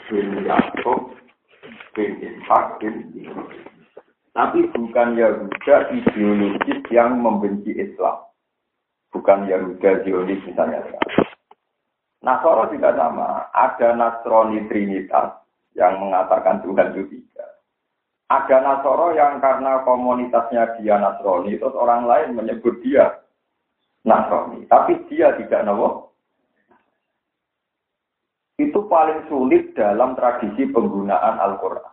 bin Yakub bin Ishak bin Ibrahim. Tapi bukan Yahuda ideologis yang membenci Islam. Bukan Yahuda Zionis misalnya. Nasoro juga sama. Ada Nasrani Trinitas yang mengatakan Tuhan itu tiga. Ada Nasoro yang karena komunitasnya dia Nasrani, terus orang lain menyebut dia Nasrani. Tapi dia tidak nawa. Itu paling sulit dalam tradisi penggunaan Al-Quran.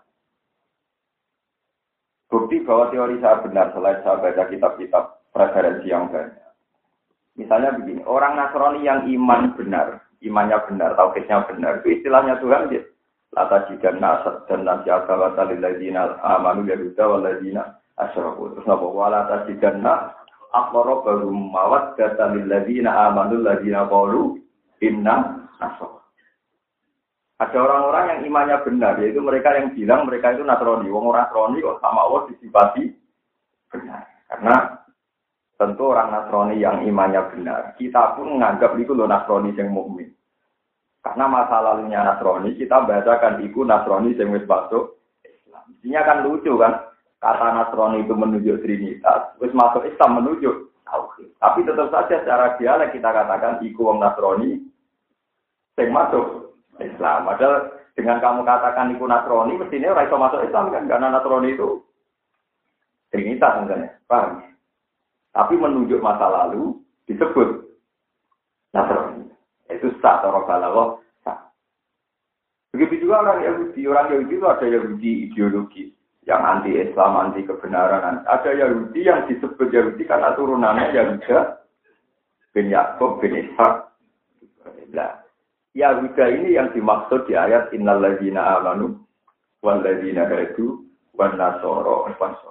Bukti bahwa teori saya benar selain saya baca kitab-kitab referensi yang banyak. Misalnya begini, orang Nasrani yang iman benar, imannya benar, tauhidnya benar, itu istilahnya Tuhan dia. Lata jidan nasad dan nasi'aka wa talil ladina amanu yahuda wa ladina asyraku. Terus napa wala tajidan aqrabahum mawaddatan lil ladina amanu ladina qalu inna nasara. Ada orang-orang yang imannya benar, yaitu mereka yang bilang mereka itu Nasrani. Wong orang Nasrani kok sama Allah disifati benar. Karena tentu orang Nasrani yang imannya benar, kita pun menganggap itu loh Nasrani yang mukmin. Karena masa lalunya Nasrani, kita bacakan itu Nasrani yang wis masuk Islam. Intinya kan lucu kan, kata Nasrani itu menunjuk Trinitas, wis masuk Islam menunjuk tauhid. Tapi tetap saja secara dialek kita katakan itu wong Nasrani yang masuk Islam. Padahal dengan kamu katakan itu Nasrani, mestinya orang iso masuk Islam kan, karena Nasrani itu Trinitas misalnya, paham? Tapi menunjuk masa lalu disebut Nasrani. Itu sah atau balaghah sah. Begitu juga orang Yahudi. Orang Yahudi itu ada Yahudi ideologis yang anti Islam, anti kebenaran. Ada Yahudi yang disebut Yahudi karena turunannya Yahuda bin Yakub bin Ishak. Nah, Yahuda ini yang dimaksud di ayat innal ladzina amanu wal ladzina hadu wan nasara fasal.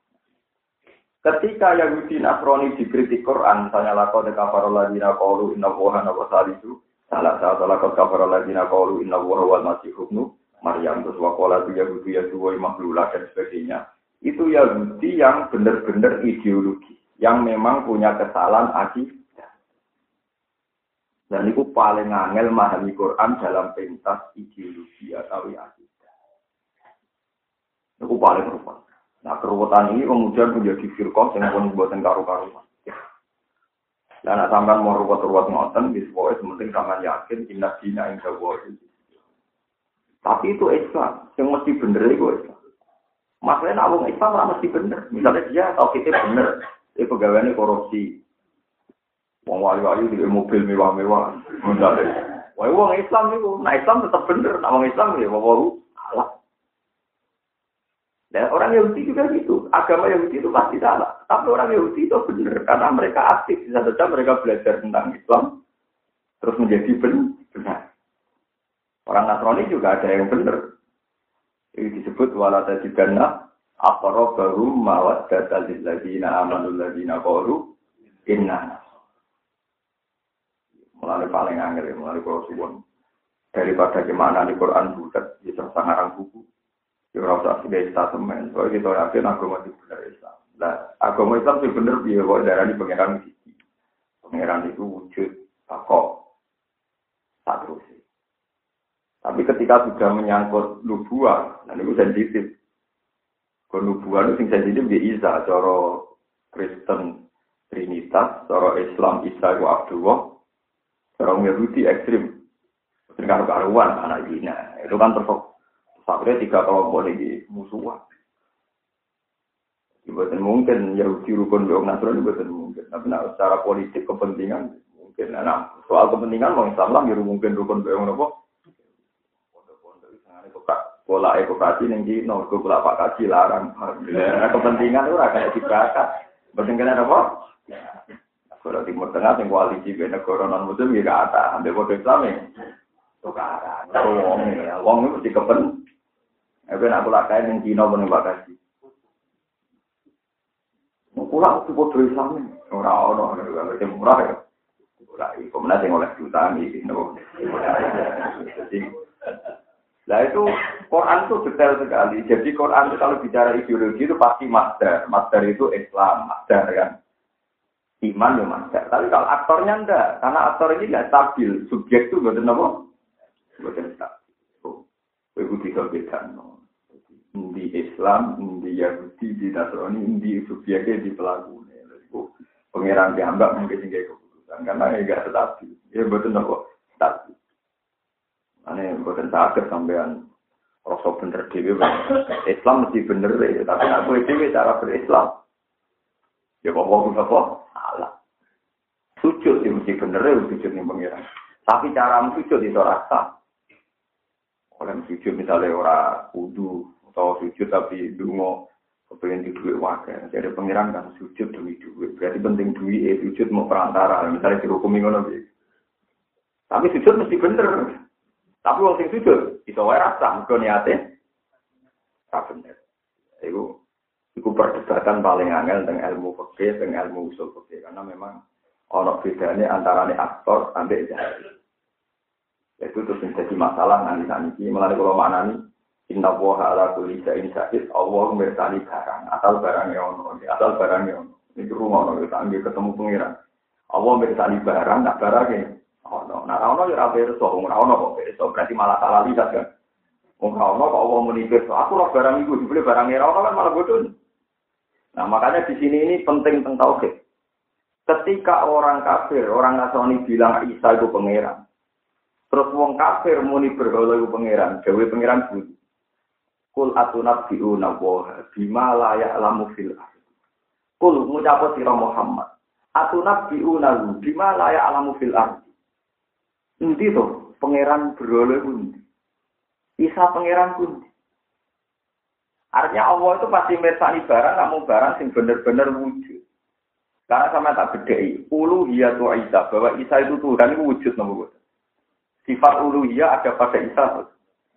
Ketika Yahudi Nasrani dikritik Quran, misalnya laqad kafara alladziina qalu inna Allaha wa salisu, salah satu laqad kafara alladziina qalu inna Allaha wal masih ibnu Maryam, terus waqala Yahudi yasuwa makhlulah dan sebagainya. Itu Yahudi yang benar-benar ideologi, yang memang punya kesalahan akidah. Dan itu paling angel memahami Quran dalam pentas ideologi atau akidah. Itu paling rupa. Nah, keruwetan ini kemudian menjadi firqah yang pun buatan karu-karuan. Dan nak sampean mau ruwet-ruwet ngoten, wis pokoke penting sampean yakin inna dina inda wae. Tapi itu Islam, yang mesti bener itu Islam. Masalahnya nak wong Islam ora mesti bener. Misalnya dia tauhidnya bener, dia pegawainya korupsi. Wong wali-wali di mobil mewah-mewah. Wah, wong Islam itu, nah Islam tetap bener, nak wong Islam ya wae salah. Dan orang Yahudi juga gitu. Agama Yahudi itu pasti salah. Tapi orang Yahudi itu benar. Karena mereka aktif. Bisa saja mereka belajar tentang Islam. Terus menjadi benar. Orang Nasrani juga ada yang benar. Ini disebut wala tajidanna aqrabahum mawaddatan lil ladzina amanu ladzina qalu inna nasara. Mulai paling angel, mulai kalau suwon. Daripada gimana di Quran bulat, bisa sangarang buku. Ya rasa sebagai statement, soalnya kita yakin agama itu benar Islam. Nah, agama Islam itu benar dia bahwa darah ini pangeran sisi. Pangeran itu wujud, takok, tak terus. Tapi ketika sudah menyangkut nubuah, nah itu sensitif. Kalau nubuah itu sensitif dia Isa, cara Kristen Trinitas, cara Islam Isa itu Abdullah, cara Yahudi ekstrim, karu-karuan anak Zina, itu kan terfokus. Sampai 3 kelompok ini musuhan. Bukan mungkin Yahudi rukun dengan Nasrani bukan mungkin. Tapi secara politik kepentingan mungkin. Nah, soal kepentingan mau Islam lah mungkin rukun dengan apa? Pondok-pondok itu sangat pola ekokrasi yang di nomor pola Pak Kaji larang. Nah, kepentingan itu agak dibakar. Kepentingan apa? Kalau Timur Tengah yang koalisi negara non Muslim juga ada. Ambil kode Islam ya. Tukaran. Wong itu mesti kepentingan. Aku nak pula kain yang Cina pun Mbak Kasih. Pulang itu bodoh Islam ni. Orang-orang yang murah ya. Pulang, kemudian yang oleh jutaan ini. Nah itu Quran itu detail sekali. Jadi Quran itu kalau bicara ideologi itu pasti masdar. Masdar itu Islam, masdar kan. Iman ya masdar. Tapi kalau aktornya enggak. Karena aktor ini enggak stabil. Subjek itu bukan apa? Bukan stabil. bisa bedano. Di Islam, di Yahudi, di Nasrani, di subjeknya, di pelaku. Pengiran diambak mungkin tinggal keputusan karena enggak stabil. Ya betul kok stabil. Ane bukan sakit sampean rasa bener dhewe. Islam mesti bener ya, tapi aku dhewe cara berislam. Ya kok salah. Sujud ya mesti bener ya sujud ning pengiran. Tapi cara sujud itu rasa. Oleh sujud misalnya ora kudu atau sujud tapi dungo kepengen di duit wakil, jadi pengiran kan sujud demi duit, berarti penting duit, sujud mau perantara, misalnya dihukumi ngono gitu. Tapi sujud mesti bener, tapi wong sing sujud, iso wae rasa, mergo niate, tak bener. Iku perdebatan paling angel dengan ilmu fikih, dengan ilmu usul fikih, karena memang ono bedanya antara aktor sampai jahil. Itu terus menjadi masalah nanti, malah kalau maknani. Inna woha ala kulli shay'in syahid, Allah mirsani barang, asal barangnya ono, asal barangnya ono. Ini rumah ono, kita ambil ketemu pengiran. Allah mirsani barang, nak barangnya ono. Nah, ono ya rapi reso, ono kok reso, berarti malah salah lihat kan. Ono kok Allah menipis, aku roh barang itu, dibeli barangnya ono kan malah bodoh. Nah, makanya di sini ini penting tentang tauhid. Ketika orang kafir, orang Nasrani bilang Isa itu pengiran, terus wong kafir muni berhala itu pengiran, gawe pengiran bunyi. Kul atunabbi'una wa bima la ya'lamu fil ardh. Kul ngucap sira Muhammad. Atunabbi'una bima la ya'lamu fil ardh. Endi to pangeran berhala kuwi? Isa pangeran kuwi. Artinya Allah itu pasti mirsani barang, namun barang sing bener-bener wujud. Karena sama tak bedheki, uluhiyatu Isa, bahwa Isa itu Tuhan itu wujud nomor. Sifat uluhiyah ada pada Isa.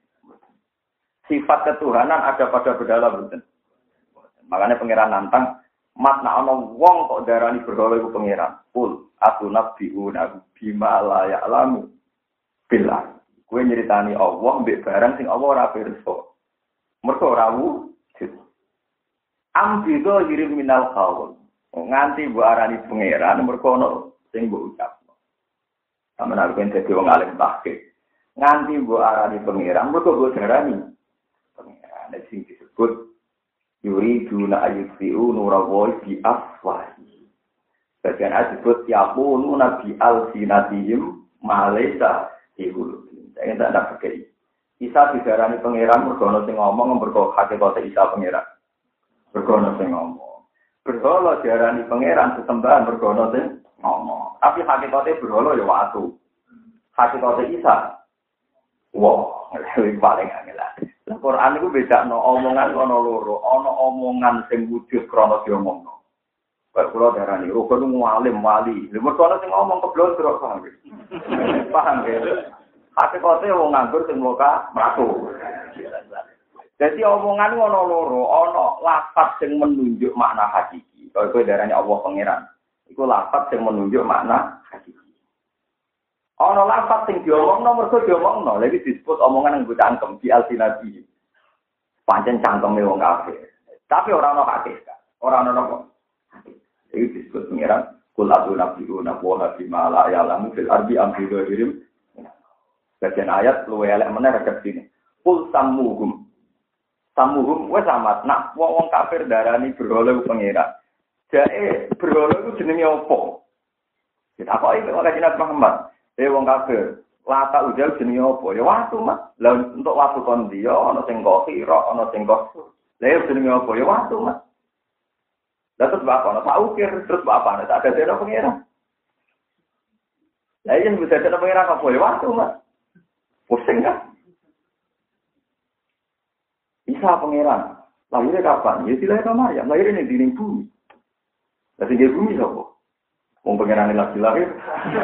Sifat ketuhanan ada pada berhala betul. Makanya pangeran nantang, mat nak ono wong kok darani berhala iku pangeran. Kul atunabbi'una bima la ya'lamu billah. Kowe nyeritani Allah mbek barang sing Allah ora pirsa. Mergo ora wujud. Ambido yirim minal qaul. Nganti mbok arani pangeran mergo ono sing mbok ucapno. Sampeyan arep dadi wong alim tahqiq. Nganti mbok arani pangeran mergo mbok darani pengiran sing disebut yuriduna ayyufi'u nurallahi bi afwahi. Bagian disebut yaqulu nabi al-sinatihim malaisa ihulun. Saya tak ada pakai. Isa didarani pangeran mergo ana sing ngomong mergo hakikat Isa pangeran. Mergo ana sing ngomong. Berhala diarani pangeran sesembahan mergo ana sing ngomong. Tapi hakikate berhala ya watu. Hakikate Isa wah, paling angel. Al-Quran itu bedakno omongan ana loro, ana omongan sing wujud krana diomongno. Kaya kula darani rukun mualim wali. Lha mergo ana sing ngomong keblondrok paham. Paham ya. Hakikate wong nganggur sing muka mlaku. Jadi omongan ana loro, ana lafaz sing menunjuk makna hakiki. Kaya kowe darani Allah pangeran. Iku lafaz sing menunjuk makna hakiki. Ana lafaz sing diomongno mergo diomongno, lha iki disebut omongan yang cangkem di alsinati. Pancen cangkeme wong kafir. Tapi ora ana hakikat. Ora ana napa. Iki disebut pengiran kul atunabbi'una wa bima la ya'lamu fil ardi am bi ghairim. Bagian ayat luwe elek meneh redaksi ini. Kul sammuhum. Sammuhum wis amat nak wong kafir darani berhala pengiran. Jae berhala iku jenenge apa? Kita kok iki kok Nabi Muhammad. Wong kafir, lata ujal jenenge apa? Ya watu, Mas. Lah untuk watu kon dia ana sing kok sira, ana sing kok. Lah jenenge apa? Ya watu, Mas. Lah terus bapak ana tak ukir, terus bapak ana tak ada dene pengira. Lah yen bisa dene pengira apa? Ya watu, Mas. Pusing kan? Isa pengira. Lahirnya kapan? Ya dilahir sama Maryam, lahirnya di bumi. Lah sing bumi sapa? Wong pengiran lagi lahir.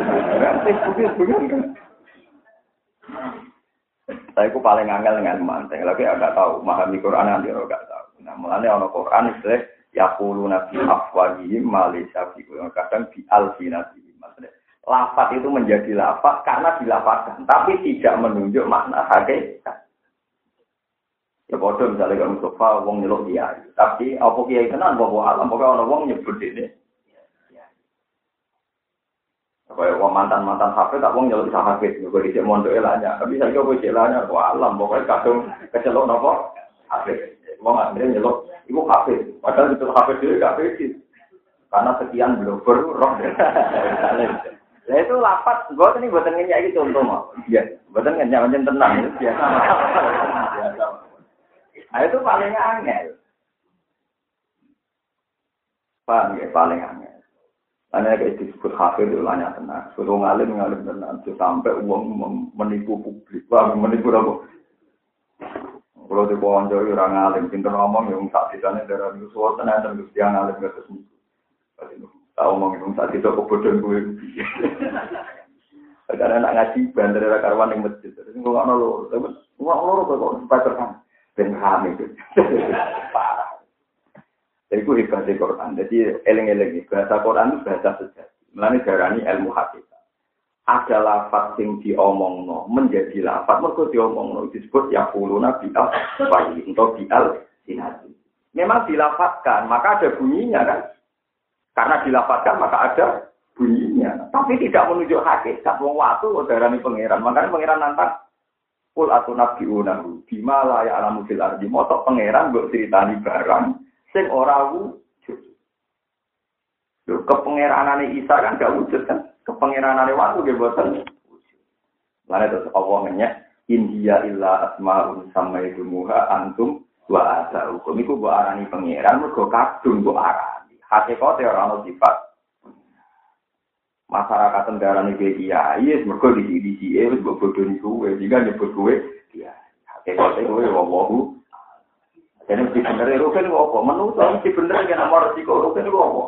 Saya ku paling angel dengan manteng. Lagi agak tahu memahami Quran nanti agak tahu. Nah, mulanya ono Quran istilah yaquluna bi afwahihim ma laysa fi qulubihim. Kadang bi alsinatihim. Maksudnya lafaz itu menjadi lafaz karena dilafazkan, tapi tidak menunjuk makna hakikat. Ya bodoh misalnya kalau Mustafa wong nyeluk kiai, tapi apa kiai tenan apa alam pokoknya ono wong nyebut ini. Kayak mantan hafid tak wong nyeluk bisa hafid, gue dicek mondok elanya. Tapi saya gue celanya, wah alam pokoknya kadung kecelok nopo hafid. Wong akhirnya nyeluk, ibu hafid. Padahal itu hafid dulu gak hafid. Karena sekian blogger roh. Nah itu lapat, gue ini buatan ngenyak gitu contoh mau. Iya, buatan ngenyak macam tenang itu biasa. Biasa. Nah itu paling angel. Paham ya, paling angel. Karena kayak disebut hafid itu banyak tenang. Suruh ngalim tenang. Sampai uang menipu publik. Wah, menipu apa? Kalau di bawah jauh orang ngalim, pintar ngomong yang tak ditanya dari musuh tenang dan dia ngalim ke atas musuh. Tahu ngomong yang tak itu kebodohan gue. Karena nak ngaji bandar dari karwan yang masjid. Terus gue nggak nolor, kok supaya terang. Dan kami itu parah. Jadi itu hebat di Quran. Jadi eling-eling bahasa Quran itu bahasa sejati. Melani darani ilmu hakikat. Ada lafaz yang diomongno menjadi lafaz. Mereka diomongno disebut yaquluna bi'al bayi atau bi'al sinati. Memang dilafazkan, maka ada bunyinya kan. Karena dilafazkan maka ada bunyinya. Tapi tidak menunjuk hakikat. Wong watu darani pangeran. Makanya pangeran nantang. Kul atunabiunahu bima la ya'lamu fil ardi. Motok pangeran mbok critani barang sing ora wujud. Lho kepengeranane Isa kan gak wujud kan? Kepengeranane waktu nggih boten wujud. Lan terus Allah ngenyek India illa asmaun samaitumuha antum wa asaukum iku mbok arani pangeran mergo kadung mbok arani. Hakikate ora ono sifat. Masyarakat tendarane kiai wis mergo disi-disike wis mbok bodoni kuwe, jika nyebut kuwe kiai. Hakikate kuwe wallahu. Jadi mesti bener itu kan apa? Menurut mesti bener kan nomor resiko itu kan apa?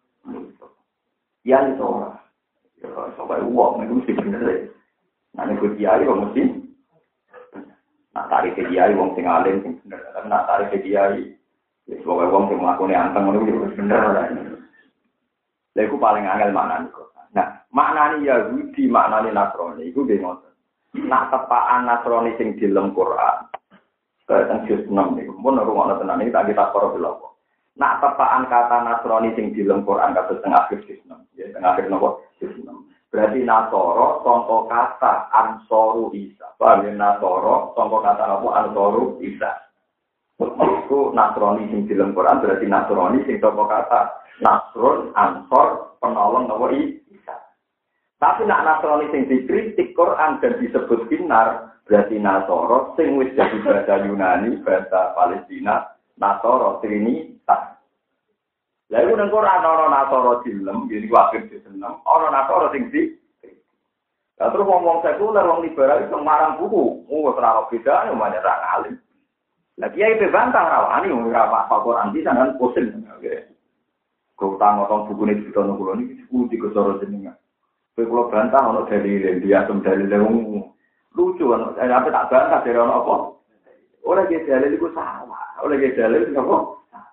Ya itu orang. Ya sampai uang itu mesti bener. Nah ini kiai kok mesti. Nah tarik kiai uang sing alim sing bener. Nah tarik kiai ya sebagai uang sing melakukan anteng itu bener lah. Lha iku paling angel maknane kok. Nah maknane Yahudi maknane Nasrani iku nggih ngoten. Nak tepaan Nasrani sing di dalam Quran. Tentang juz 6 niku pun rumah tenan iki tak kita para beloko. Nak tepaan kata Nasrani sing di dalam Quran kados teng akhir juz 6. Ya teng akhir napa juz 6. Berarti Nasoro sangka kata Ansoru Isa. Paham ya Nasoro sangka kata apa Ansoru Isa. Iku Nasrani sing di dalam Quran berarti Nasrani sing sangka kata Nasrun Ansor penolong napa Isa. Tapi nak Nasrani sing dikritik Quran dan disebut binar berarti Nasoro sing wis jadi bahasa Yunani, bahasa Palestina, Nasoro Trinitas. Lah iku nang Quran ana Nasoro dilem, jadi wakil diseneng, ana Nasoro sing di. Lah terus ngomong sekuler wong liberal iso marang buku, ora bedane umane ra alim. Lah kiai bebantah rawani ora apa Quran bisa kan pusing. Kok utang bukune ditono kula niki kudu digosoro jenengan. Kowe kula bantah ana dalil dia tem dalil wong lucu kan, apa tak bantah dari orang apa? Orang yang dalil itu salah, orang yang dalil itu apa?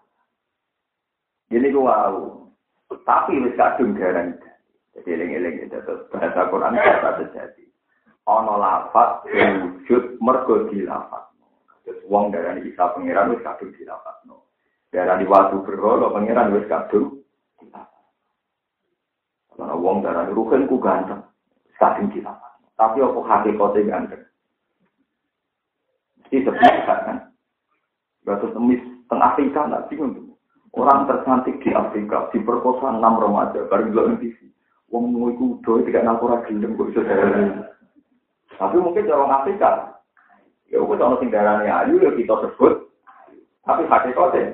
Jadi gue wow, tapi wis kadung garang. Jadi eling-eling itu bahasa Quran kata terjadi. Ono lafaz wujud mergo dilafaz. Terus wong darani Isa pangeran wis kadung dilafazno. Darani watu berhala pangeran wis kadung dilafaz. Ana wong darani ruhen ku ganteng, kadung dilafaz. Tapi apa hakikatnya ganteng? Mesti sebenarnya kan? Batu temis tengah Afrika nggak bingung tuh. Orang tercantik di Afrika diperkosa 6 remaja baru bilang TV. Wong mau ikut doa tidak nakura gelem kok bisa jalan. Tapi mungkin orang Afrika, ya udah orang tinggalannya ayu ya kita sebut. Tapi hakikatnya,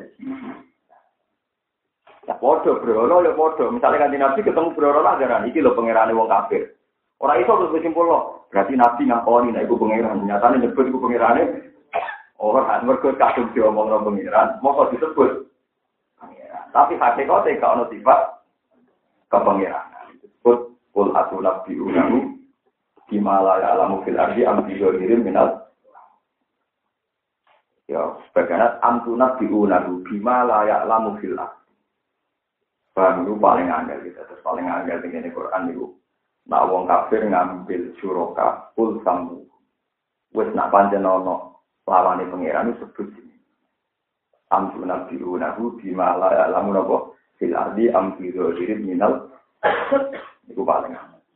ya bodoh bro, ya bodoh. Misalnya kan di Nabi ketemu bro lah jalan, iki lo pangerane wong kafir. Orang itu harus bersimpul loh. Berarti Nabi ngakoni, nah itu pengiran. Nyatanya nyebut itu pengirannya. Orang mereka kadung diomong orang pengiran. Mau disebut pengiran. Tapi hakikatnya gak ada sifat kepengiran. Disebut kul atulab diunahu Himalaya alamu fil ardi ambiyo dirim minal. Ya, sebagainya amtunab diunahu Himalaya alamu fil ardi. Bahan itu paling angel gitu. Terus paling angel dengan Quran itu. Nak wong kafir ngambil syuroka kul sambu. Wis nak pancen ana lawane pangeran sebut sini. Amtu nabiunahu bima la ya'lamu napa fil ardi am fi dzahiri minal. Iku paling.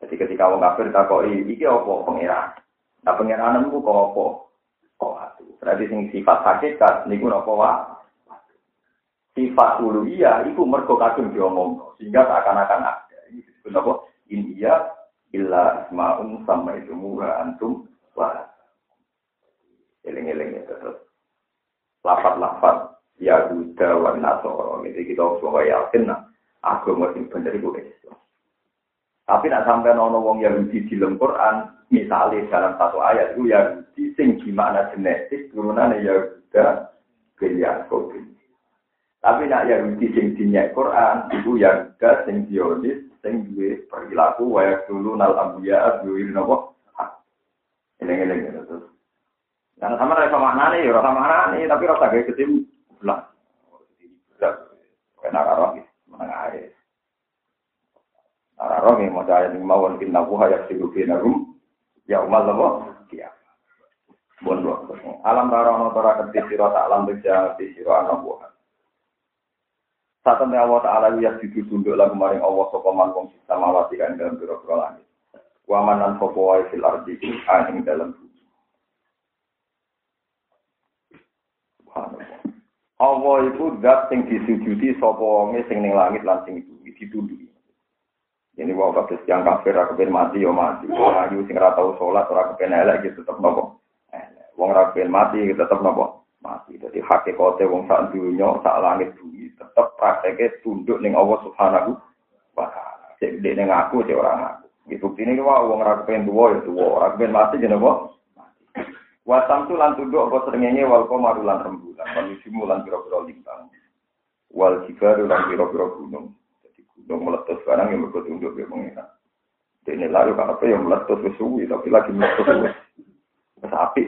Jadi ketika wong kafir takoki iki apa pangeran. Nah pangerananmu kok apa? Kok atu. Berarti sing sifat hakikat niku napa wae. Sifat uluhiyah iku mergo kadung diomong sehingga seakan-akan ada. Ini disebut apa? India illa asmaun sama itu murah antum wa eling-eling itu terus lafaz-lafaz Yahuda wa Nasara. Jadi kita semua yakin agama sing bener iku Islam. Tapi nak sampai ono wong Yahudi di dalam Quran, misalnya dalam satu ayat itu Yahudi sing gimana genetik turunan Yahuda bin Yakub. Tapi nak Yahudi sing dinyak Quran itu Yahuda sing Zionis sing duwe perilaku wayak dulu nal ambiya duwe napa. Eleng-eleng terus. Karena sama rasa maknane ya rasa maknane tapi rasa gawe ketim belah. Enak karo iki meneng ae. Ara roh yang maca ayat mawon inna buha yasiru binarum ya umal Allah dia. Bon alam tarono tora keti sira tak alam beja di sira ana buha. Satemene Allah Ta'ala ya ditunduk lagu maring Allah sapa man wong samawati kan dalam pira-pira langit. Wa manan sapa wae fil ardi ing dalam bumi. Allah itu zat sing disujudi sapa wong sing ning langit lan sing ditunduki. Jadi wong kabeh yang kafir ora kepen mati yo mati. Wong ayu sing ora tau salat ora kepen elek iki tetep nopo. Wong ora kepen mati iki tetep nopo? Mati. Dadi hakikate wong sak dunya, sak langit bumi tetep prakteke tunduk ning Allah Subhanahu wa taala. Cek dene ngaku cek ora ngaku. Iki buktine ki wong ora kepen tuwa ya tuwa, ora kepen mati jenenge apa? Mati. Wa samtu lan tunduk apa srengenge wal qamaru lan rembulan, manusimu lan pira-pira lintang. Wal jibaru lan pira-pira gunung. Gunung meletus sekarang yang bertunduk ke pengiran. Ini lalu apa yang meletus ke suwi, tapi lagi meletus ke api.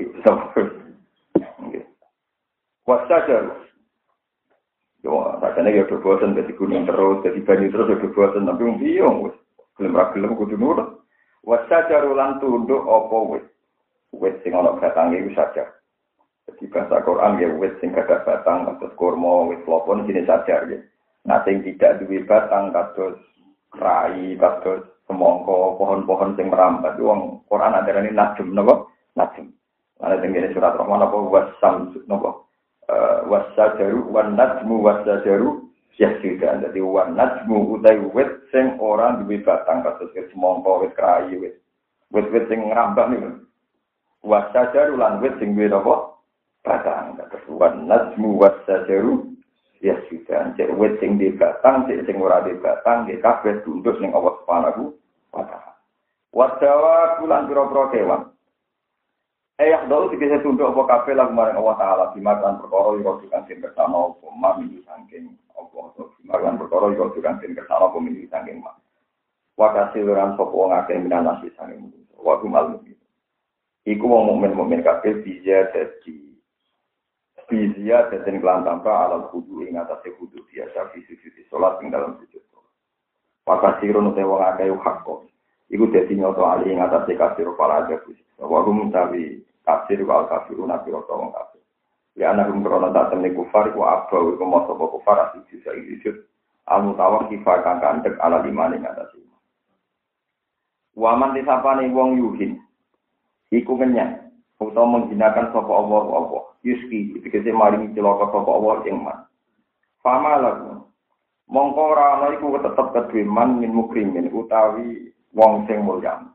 Wasajar. Yo, rasanya ya berbosan dari gunung terus, dari banyu terus ya berbosan, tapi bingung. Gelem-gelem kudu nurut. Wasajar ulang tunduk apa wis. Wis sing ana batange wis saja. Jadi bahasa Quran ya wis sing ada batang, maksud kurma, wis lopon jenis sajar ya. Nah, sing tidak duwe batang kados rai, kados semangka, pohon-pohon sing merambat wong Quran ajarane najm napa? Najm. Ana teng surat Rahman apa wasam napa? Wasajaru wan najmu wasajaru yasjudan. Dadi wan najmu utai wit sing ora duwe batang kados semangka, wit rai, wit sing ngrambah niku. Wasajaru lan wit sing duwe napa? Batang kados wan najmu wasajaru ya sudah, cek wet sing di batang, cek sing ora di batang, di kabeh tunduk ning Allah Subhanahu wa taala. Wadawa kulan pira-pira kewan. Ayah dulu dikese tunduk apa kabeh lan maring Allah taala dimakan perkara ira kang sing kersane apa mami saking Allah dimakan perkara ira kang sing kersane apa mimi saking mak. Wa kasiran sapa wong akeh minanasi saking wa kumal mukmin. Iku wong mukmin kabeh bisa dadi Bizia dan kelan tanpa alam kudu ing atase kudu biasa fisik salat ing dalam sujud. Pakasirun te wong akeh hak kok. Iku dadi nyoto ali ing atase kasir para jago. Wa rum tawi kasir wal kafirun nabi wong kafir. Ya ana rum krana tak temne kufar ku abau iku moso kufar asih bisa sujud. Al mutawak kifar kang kandek ala limane ing atase. Wa man disapane wong yuhin. Iku kenyang. Utawa menghinakan sapa Allah. Yuski dikese maringi celaka sapa Allah ing man. Fama lagu. Mongko ora ana iku tetep kedue man min mukrimin utawi wong sing mulya.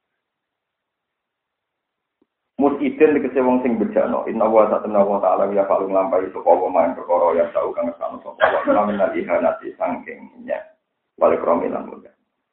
Musidin dikese wong sing bejana. Inna wa ta'ala ya falung lampahi sapa wa main perkara ya tau kang sanu sapa wa minal ihanati sangking nya. Wale kromilan mulya.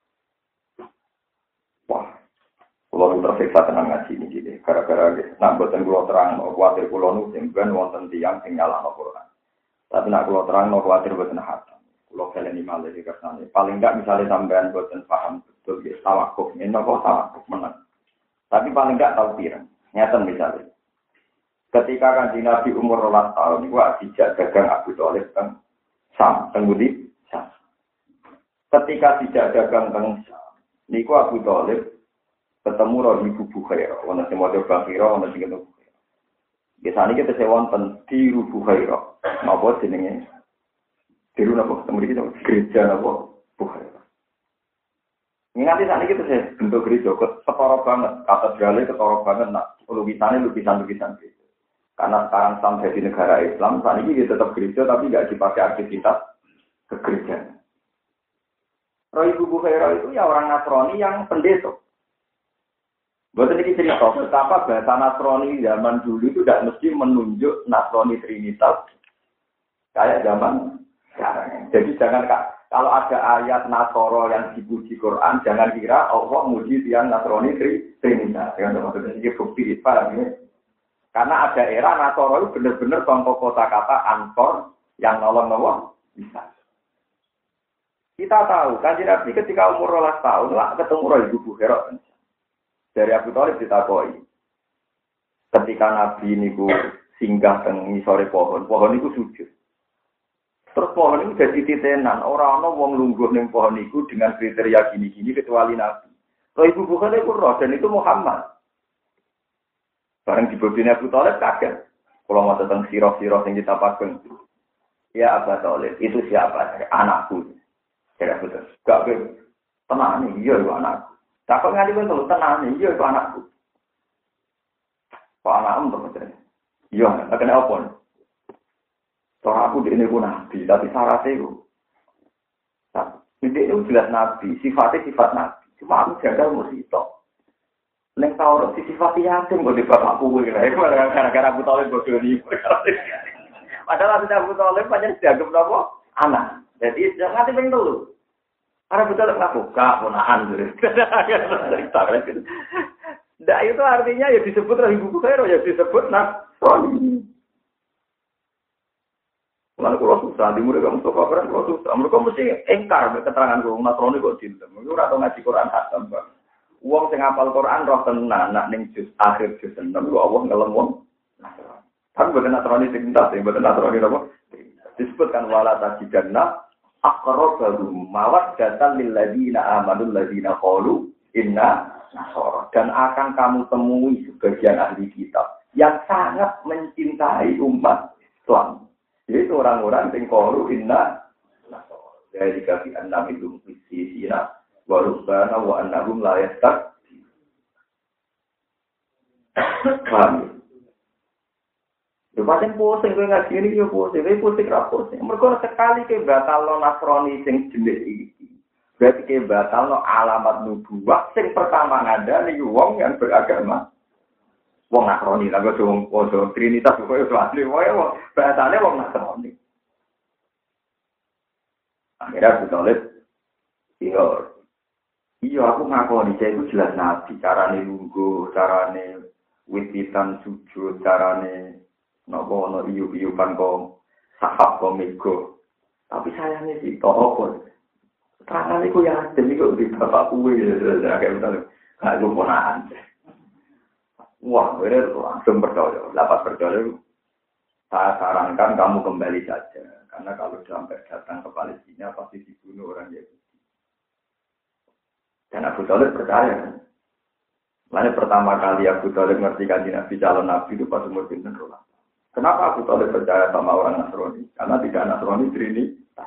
Wah. Kulo tersiksa tenan ngaji niki iki. Gara-gara nak boten kulo terangno kuwatir kulo nu sing ben wonten tiyang sing nyalahno Quran. Tapi nak kulo terangno kuwatir boten hatam. Kulo kaleni malih kersane. Paling enggak misalnya sampean boten paham betul ya tawakuf menawa kok tawakuf menang. Tapi paling enggak tahu pirang. Nyata misalnya. Ketika Kanjeng Nabi umur 12 tahun niku dijak dagang Abu Thalib kan Sam, tenggudi Sam. Ketika dijak dagang teng Sam niku Abu Thalib ketemu roh ibu Bukhairah, ana sing maca Bukhairah, ana sing ketemu. Biasane kita sewonten di Bukhairah. Napa jenenge? Diru napa ketemu iki gereja napa Bukhairah. Nganti saat ini saya bentuk gereja ketara banget, katedralnya ketara banget, nak lukisan gitu. Karena sekarang sampai di negara Islam, saat ini dia tetap gereja tapi nggak dipakai aktivitas kegerejaan. Roh Ibu Bukhairah itu ya orang Nasrani yang pendeta. Buat ini cerita betapa bahasa Nasrani zaman dulu itu tidak mesti menunjuk Nasrani Trinitas kayak zaman sekarang. Jadi jangan kalau ada ayat Nasoro yang dipuji Quran, jangan kira Allah muji yang Nasrani Trinitas. Yang maksudnya ini bukti paham ya? Karena ada era Nasoro itu benar-benar contoh kata-kata ansor yang nolong bisa. Kita tahu, Kanjeng Nabi ketika umur 12 tahun lah ketemu Roh Ibu Bukhairah. Dari Abu Thalib ditakoi. Ketika Nabi niku singgah teng ngisore pohon niku sujud. Terus pohon itu jadi titenan, orang wong lungguh ning pohon itu dengan kriteria gini-gini kecuali Nabi. Roh Ibu Bukhairah itu roh dan itu Muhammad. Bareng di bobine Abu Thalib kaget. Kalau mau tentang sirah-sirah yang kita pakai. Ya Abu Thalib, itu siapa? Anakku. Saya betul. Gak tenang nih, iya itu anakku. Takut nganti betul, tenang nih, iya itu anakku. Kok anakmu terus? Iya, tak kena apa? Cara aku di ini pun nabi, tapi syaratnya itu. Ini itu jelas nabi, sifatnya sifat nabi. Cuma aku jaga musibah. Neng tahu sifat yatim kok di bapakku gara-gara Abu Thalib bodoh ini. Padahal Abu Thalib banyak dianggap apa? Anak. Jadi jangan nanti pengen dulu. Karena Abu Thalib nggak buka ponaan gitu. Nah itu artinya ya disebut Ibu Bukhairah, ya disebut Nasrani. Lalu kalau susah, di murid kamu suka orang kalau susah. Mereka mesti engkar keterangan gue Nasrani kok cinta. Mereka atau ngaji Quran hatam bang. Uang sing hafal Quran roh tenan nak ning juz akhir juz 6 ku Allah ngelem wong. Kan boten Nasrani sing entas, boten Nasrani napa? Disebutkan wala tajidanna aqrabahum mawaddatan lil ladina amanu ladina qalu inna nasara. Dan akan kamu temui sebagian ahli kitab yang sangat mencintai umat Islam. Yaitu orang-orang yang qalu inna nasara. Jadi kaki annam itu fisina wa rubbana wa annahum la yastak. Paham? Yo pancen pusing kowe ngaji iki yo pusing, kowe pusing ra pusing. Mergo sekali ke batalno Nasrani sing jenis iki. Berarti ke batalno alamat nubuwah sing pertama ngandani wong yang beragama wong Nasrani. Lah kok wong Trinitas kok yo asli wae wong bahasane wong Nasrani. Akhirnya Abu Thalib iya aku ngakoni saya itu jelas nabi, carane lungguh, carane wititan sujud, carane nopo ono iyu-iyukan kok sahab kok mego. Tapi sayangnya sih kok apa? Terangane ku ya demi kok di bapak kuwe ya kayak betul. Gak lupakan. Wah, bener langsung percaya. Dapat percaya. Saya sarankan kamu kembali saja karena kalau sampai datang ke Palestina pasti dibunuh orang Yahudi. Dan Abu Thalib percaya. Makanya pertama kali Abu Thalib ngerti kanjeng Nabi calon Nabi itu pas umur pinten rolas. Kenapa Abu Thalib percaya sama orang Nasrani? Karena tidak Nasrani Trinitas.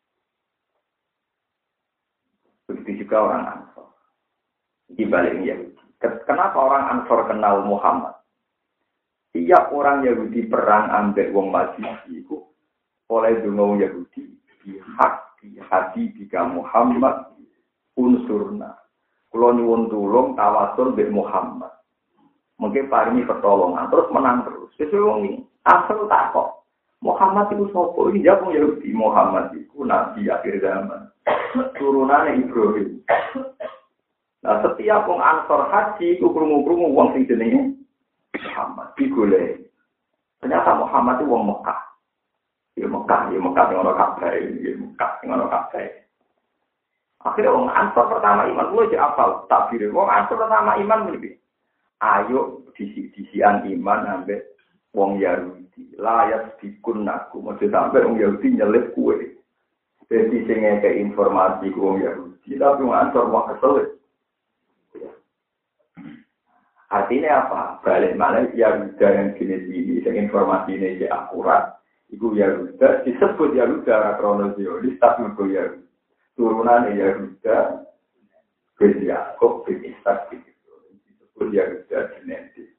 Begitu juga orang Ansor. Di balik Yahudi. Kenapa orang Ansor kenal Muhammad? Tiap orang Yahudi perang ambek wong Majusi itu oleh dungo Yahudi di hati jika Muhammad unsurna. Kulo nyuwun tulung tawasul mbek Muhammad. Mungkin paringi pertolongan terus menang terus. Wis wong iki asal tak kok. Muhammad itu sapa? Iki jawab Yahudi Muhammad itu nabi akhir zaman. Turunane Ibrahim. Nah, setiap wong Ansor haji iku krungu-krungu wong sing jenenge Muhammad digoleki. Ternyata Muhammad itu wong Mekah. Ya Mekah ngono kabeh, ya Mekah ngono kabeh. Akhirnya wong Ansor pertama iman, lu aja apal takbir. Wong Ansor pertama iman mesti. Ayo disian iman ambek wong Yahudi. Layas dikunnaku, mesti sampai wong Yahudi nyelip kue. Jadi sing ngeke informasi ku wong Yahudi, tapi wong Ansor wong kesel. Artinya apa? Balik mana Yahuda yang jenis ini, yang informasi ini akurat. Iku Yahuda disebut Yahuda kronologis, tapi itu Yahuda. Turunan Yahuda bin Yakub bin Ishak bin Ibrahim. Disebut Yahuda genetik.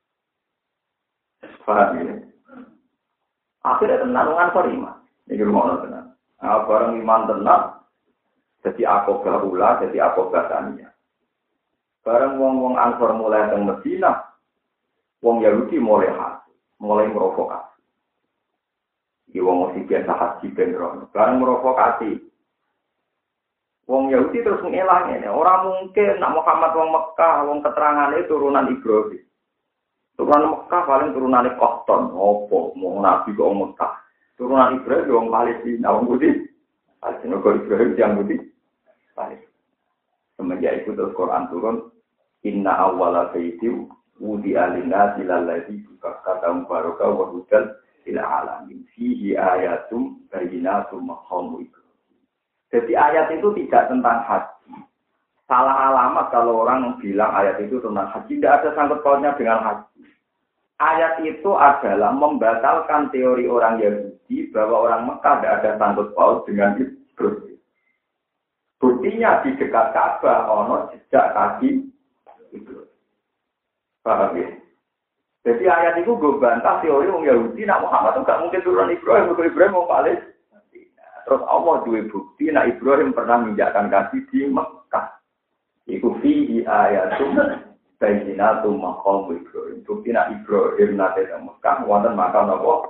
Paham ya? Akhirnya tenang Ansor iman. Ini rumah tenang. Nah, barang iman tenang, jadi akobah ula, jadi akobah tania. Barang wong-wong Ansor mulai teng Medina, wong Yahudi mulai hasil, mulai merokokasi. Iki wong mesti biasa haji benro. Barang merokokasi. Wong Yahudi terus ngelangnya. Orang mungkin nak Muhammad wong Mekah, wong keterangannya turunan Ibrahim. Turunan Mekah paling turunan Kohton, opo, mau Nabi kok Mekah. Turunan Ibrahim wong Palestina, wong Putih. Palestina kok Ibrahim yang Putih. Palestina. Semenjak itu terus Quran turun, Inna awwala baiti wudi'a lin-nasi lalladzi kata baraka wa hudan lil alamin. Fihi ayatum bayyinatum maqamu Ibrahim. Jadi ayat itu tidak tentang haji. Salah alamat kalau orang bilang ayat itu tentang haji, tidak ada sangkut pautnya dengan haji. Ayat itu adalah membatalkan teori orang Yahudi bahwa orang Mekah tidak ada sangkut paut dengan Ibrahim. Buktinya di dekat Ka'bah ono jejak kaki Ibrahim. Paham ya? Jadi ayat itu gue bantah teori orang Yahudi, nak Muhammad itu gak mungkin turun Ibrahim, kalau Ibrahim mau Palestina. Terus Allah dua bukti, nak Ibrahim pernah menginjakkan kaki di Mekah. Iku fihi ayatum bayyinatum maqam Ibrahim. Bukti nak Ibrahim nate nang Mekah wonten makam napa?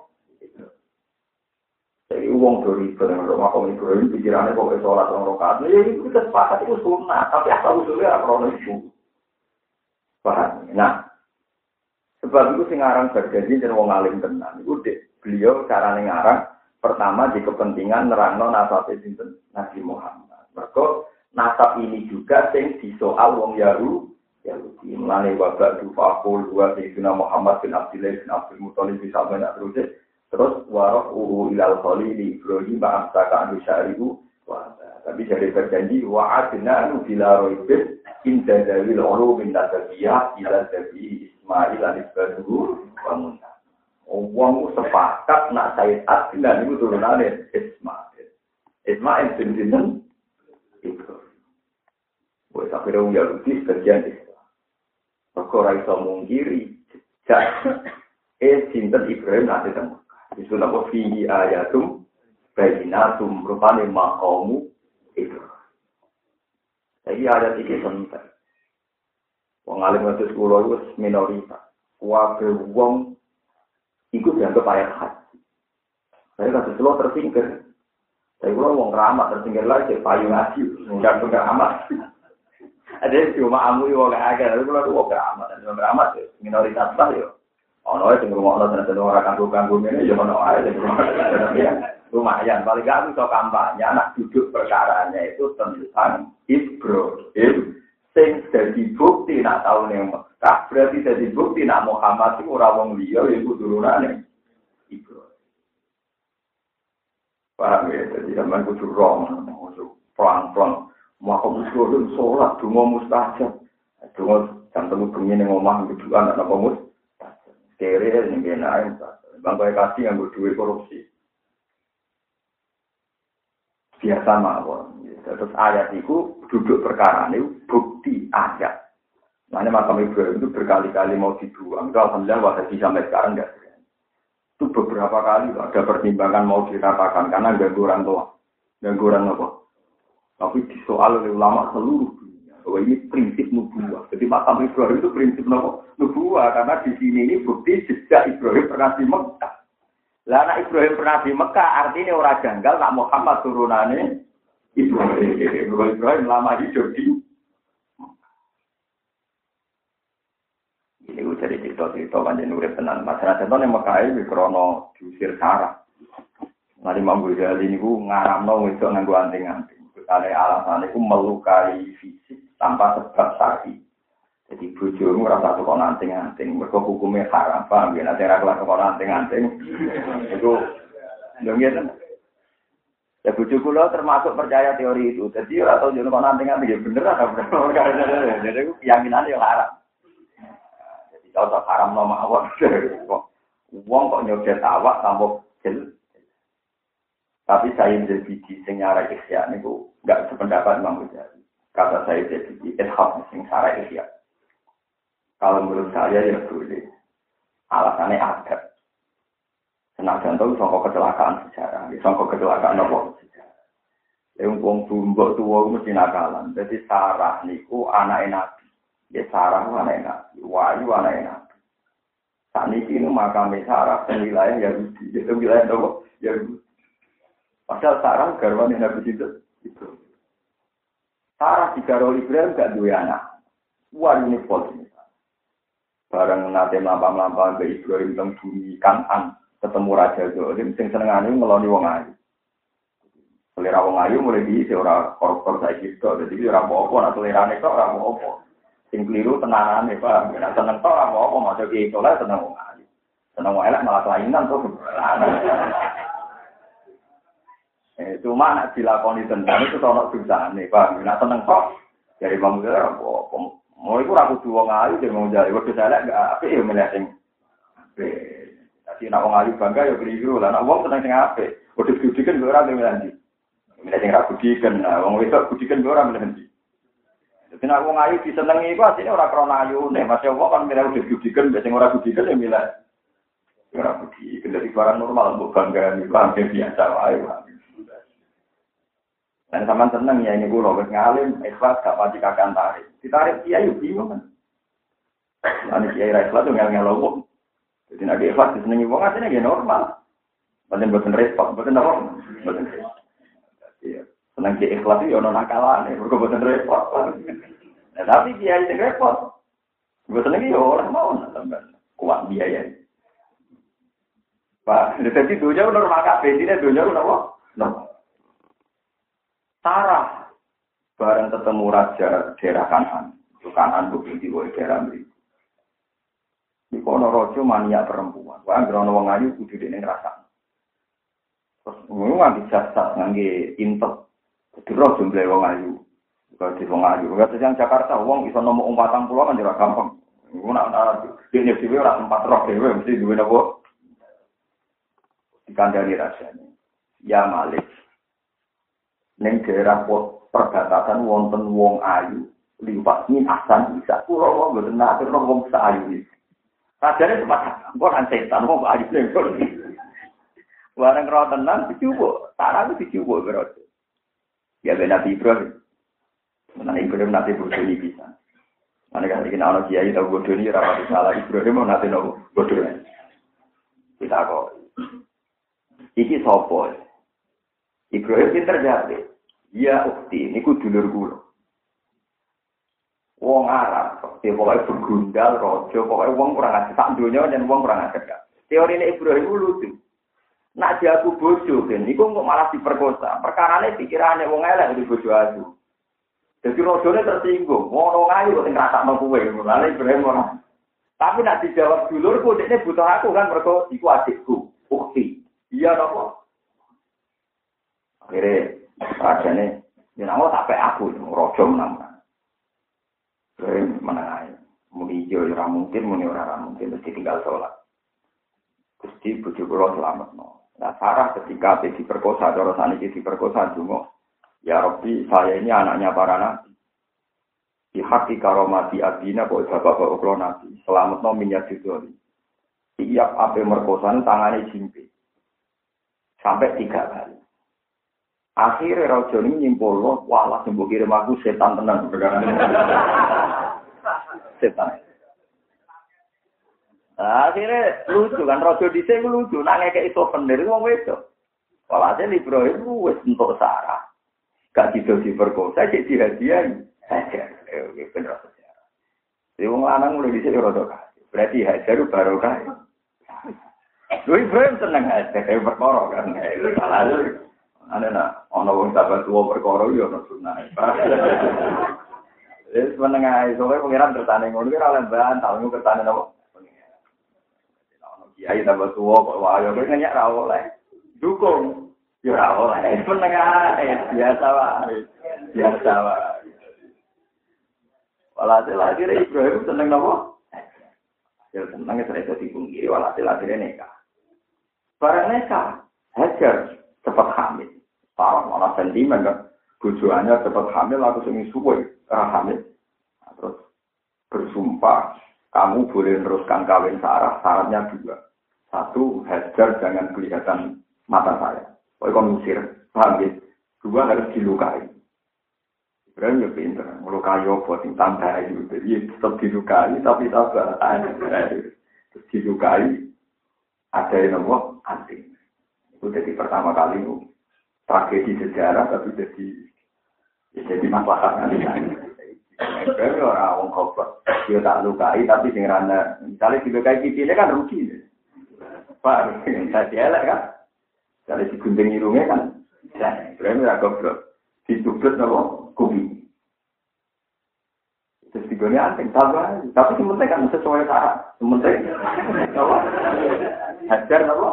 Jadi uang dari makam Ibrahim pikirannya kok sholat orang rakaat. Ya itu kita sepakat itu sunnah, tapi asal usulnya ora itu. Paham? Nah, sebab itu sing aran berjanji dan wong alim tenan. Iku beliau carane ngarang pertama di kepentingan nerangno nasabe sinten Nabi Muhammad. Mergo nasab ini juga sing disoal wong Yahudi. Mulane wabak dufaqul wa sayyidina Muhammad bin Abdullah bin Abdul Muthalib bisa benak terus waroh ilal khalil Ibrahim ba'amsaka anu syari'u wa tapi jadi berjanji wa'adna anu bila roibin inda dalil ulum min nasabiyah ila sabi Ismail al-Ibadu wa Musa. Wong sepakat nak Sayyid Adnan itu turunane Ismail. Ismail bin Sinten Ibrahim. Wes akhirnya Yahudi sebagian Islam. Perkara iso mungkiri jejak Sinten Ibrahim nanti temu. Itu nama fihi ayatum bayyinatum rupane maqamu Ibrahim. Jadi ayat iki penting. Wong alim ngatus kula iku minoritas. Wae wong iku dianggap ayat haji. Saya kasih selo tersingkir. Saya kula wong ramah tersingkir lagi payu ngaji, enggak amat. Ada cuma amu wong agak, tapi kula wong ramah dan wong ramah minoritas lah yo. Ono sing ngrungokno tenan ora kanggo-kanggo ngene ya ono ae lumayan paling gak iso kampanye anak duduk perkaranya itu tentang Ibrahim sing dadi bukti nak taune Mekah berarti dadi bukti nak Muhammad iku ora wong liya iku turunane Ibrahim. Paham ya, jadi zaman kudu rom pelan-pelan maka musuh sholat donga mustajab donga jam temu bengi ning omah kuduan ana apa kere ning kene bangkai kasih yang berdua korupsi. Biasa mawon. Terus ayat itu duduk perkara ini bukti ayat. Makanya makam Ibrahim itu berkali-kali mau dibuang. Itu alhamdulillah wahai sampai sekarang enggak. Itu beberapa kali ada pertimbangan mau diratakan karena ganggu orang tua. Ganggu orang apa? Tapi disoal oleh ulama seluruh dunia. Bahwa ini prinsip nubuah. Jadi makam Ibrahim itu prinsip nubuah karena di sini ini bukti sejak Ibrahim pernah di Mekah. Lah anak Ibrahim pernah di Mekah artinya orang janggal nak Muhammad turunannya Ibrahim lama hidup di ini jadi cerita-cerita panjang urip tenan. Masyarakat itu yang Mekah ini krono diusir Sarah. Nanti Imam Ghazali ini ngaramno wedok nganggo anting-anting. Kali alasan itu melukai fisik tanpa sebab syar'i. Jadi bojomu rasa kok anting-anting, mergo hukumnya haram, paham ya? Nanti ra kelas kok anting-anting. Itu lho ngene. Ya bojo kula termasuk percaya teori itu. Jadi ora tau yo kok anting-anting ya bener apa bener. Jadi keyakinan yo haram. Jadi kalau haram no mawon. Wong kok nyoget awak tanpa jel. Tapi saya menjadi sing nyara ikhya niku enggak sependapat Imam Ghazali. Kata saya jadi ishab sing Sarah Ihya. Kalau menurut saya ya boleh. Alasannya ada. Senajan tahu sangka kecelakaan sejarah, sangka kecelakaan apa sejarah. Wong bumbok tuwa mesti nakalan. Dadi Sarah niku anake Nabi. Ya Sarah anake Nabi, Wahyu anake Nabi. Saniki ini makame Sarah di wilayah Yahudi, itu wilayah apa? Yahudi. Pasal Sarah garwane Nabi itu. Sarah digarwa Ibrahim gak duwe anak. Wah ini pol ini. Bareng nate mlampah-mlampah ke Ibrahim teng bumi Kanan, ketemu Raja Zolim sing senengane ngeloni wong ayu. Selera wong ayu mulai diisi ora koruptor saiki to, dadi ora apa-apa, nek selerane kok ora apa-apa. Sing kliru tenanane, Pak. Nek seneng to ora apa-apa, maca ki ikhlas seneng wong ayu. Seneng wong elek malah kelainan to. Cuma nek dilakoni tenan itu ono dosane, Pak. Nek seneng kok dari bang ora apa-apa. Mau iku ora kudu wong ayu sing mau jare wedhus elek gak apik ya meneh sing apik. Dadi nek wong ayu bangga ya kliru lah, nek wong seneng sing apik. Wedhus gudiken ora ngendi. Meneh sing ra gudiken, wong wedok gudiken ora ngendi. Dadi nek wong ayu disenengi iku asline ora krana ayune, Mas wong kan milih wedhus gudiken, sing ora gudiken ya milih ora gudiken. Dadi barang normal mbok bangga iki biasa wae. Dan sama seneng ya ini kula wis ngalim ikhlas gak pati kakang tarik. Ditarik kiai bingung kan. Ane kiai ra ikhlas ngel-ngel wong. Jadi nek ikhlas disenengi wong asline ya normal. Boten repot, boten apa? Boten. Iya. Seneng kiai ikhlas yo ono nakalane, mergo boten repot. Nah, tapi kiai sing repot. Boten iki yo ora mau sampean kuat biaya. Pak, dadi dunya normal kabeh, dene dunya napa? Normal. Sarah bareng ketemu raja daerah Kanan, itu Kanan bukti di daerah Mri. Di kono rojo mania perempuan, wah grono wong ayu kudu dene ngrasakno. Terus ngono nganti jasad ngangge intek, kudu ro jumlah wong ayu. Bukan di wong ayu, kata yang Jakarta wong iso nomor 40 kan ora gampang. Ngono ana dene dhewe ora tempat roh dhewe mesti duwe napa. Dikandani rasane. Ya Malik. Neng daerah perbatasan wonten wong ayu liwat ini asan bisa pulau wong boten nate wong ayu iki. Rajane sempat kok kan setan wong ayu ning kono. Wareng ro tenan dicuwuk, tarane dicuwuk berarti. Ya ben Nabi Ibrahim. Menawa Ibrahim nate bodoni bisa. Mane kan iki ana kiai tau bodoni ora pati salah Ibrahim nate nopo bodoni. Kita kok. Iki sapa? Ibrahim pinter jawab. Ya ukti, niku dulur kula. Wong Arab, pokoke begundal raja, pokoke wong kurang ajar sak donya yen wong kurang ajar. Teorine Ibrahim lucu. Nak jago bojo ben niku kok malah diperkosa. Perkarane pikirane wong elek di bojo aku. Dadi rajane tersinggung, ngono ayu kok ngrasakno kowe. Mulane Ibrahim ora. Tapi nak dijawab dulurku, dekne butuh aku kan mergo iku adikku, ukti. Iya napa? Akhirnya, rajanya, ya nama sampai aku, rojo menang. Jadi, menang aja. Muni hijau, orang mungkin, muni orang mungkin, mesti tinggal sholat. Gusti, bujuk pulau selamat, no. Nah, Sarah ketika diperkosa, cara saniki diperkosa, cuma, ya Rabbi, saya ini anaknya para nabi. Di hati karomati abina, kok bapak-bapak uklo nabi. Selamat, no, minyak judul. Tiap api merkosan, tangannya jimpi. Sampai 3 kali. Akhirnya raja ini nyimpul loh, walah sembuh kirim aku setan tenang. Setan. Akhirnya lucu kan, raja di sini lucu, nangnya kayak itu bener, itu ngomong itu. Walhasil Ibrahim wis untuk Sarah. Gak gitu diperkosa, jadi dihadiahi. Bener sejarah. Jadi orang lanang mulai di sini rodo kasih. Berarti hajar baru kasih. Lu Ibrahim seneng hajar, kayak berkorok kan. Walhasil. Ana nak ana wong sahabat tuwa perkara yo ana sunah. Wis meneng ae soalé pengiran tertane ngono ki ora lemban, tahu kertane napa. Ana kiai sahabat tuwa kok wae kok nyak ra oleh. Dukung yo ra oleh. Meneng ae biasa wae. Biasa wae. Walhasil akhirnya Ibrahim seneng napa? Ya seneng terus dipungkiri walhasil akhirnya nikah. Barang nikah, Hajar cepat hamil. Parah malah sentimen kan. Bojoannya cepat hamil, aku sing suwe hamil. Nah, terus bersumpah, kamu boleh meneruskan kawin Sarah, syaratnya 2. 1, Hajar jangan kelihatan mata saya. Pokoknya kamu musir, paham ya? 2, harus dilukai. Ibrahim ya pinter, melukai apa, tambah itu. Jadi tetap dilukai, tapi sabar. Terus dilukai, ada yang nomor anting. Itu jadi pertama kali tragedi sejarah, tapi jadi masalah nanti. Ibrahim orang goblok, dia tak lukai, tapi dengan misalnya dilukai pipinya kan rugi. Pak, saya elek kan? Kalau digunting hidungnya kan, Ibrahim tidak goblok. Ditublet nama kubi. Terus digone anting, tambah. Tapi sementing kan sesuai syarat. Sementing, apa? Hajar apa?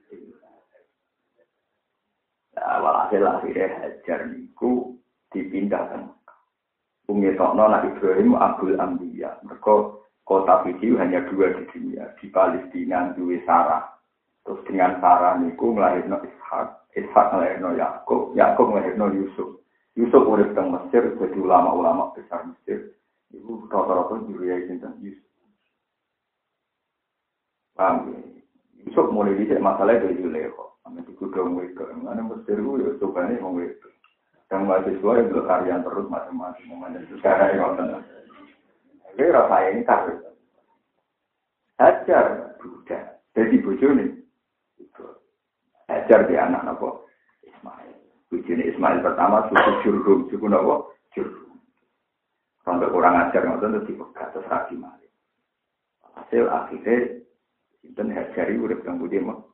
Walhasil akhirnya Hajar niku dipindahkan. Umitokno Nabi Ibrahim Abdul Ambiya. Mereka kota Fiji hanya 2 di dunia. Di Palestina, duwe Sarah. Terus dengan Sarah niku nglahirno Ishak, Ishak nglahirno Yakub, Yakub nglahirno Yusuf. Yusuf urip teng Mesir jadi ulama-ulama besar Mesir. Iku rata-rata juriya sinten Yusuf. Paham ya? Yusuf mulai dicek masalah dari Zulekho. Amin digudong wedok. Mana Mesir ku ya cobane wong wedok. Dan mahasiswa itu karyan terus macam-macam. Mana sekarang yang ngoten. Iki rasa ini kabeh. Hajar budak. Jadi bojone Hajar di anak apa? Ismail. Bujune Ismail pertama suku Jurhum, suku apa? Jurhum. Sampai kurang ajar ngoten terus dipegat terus rabi malih. Hasil akhirnya sinten Hajari urip kang budi mah.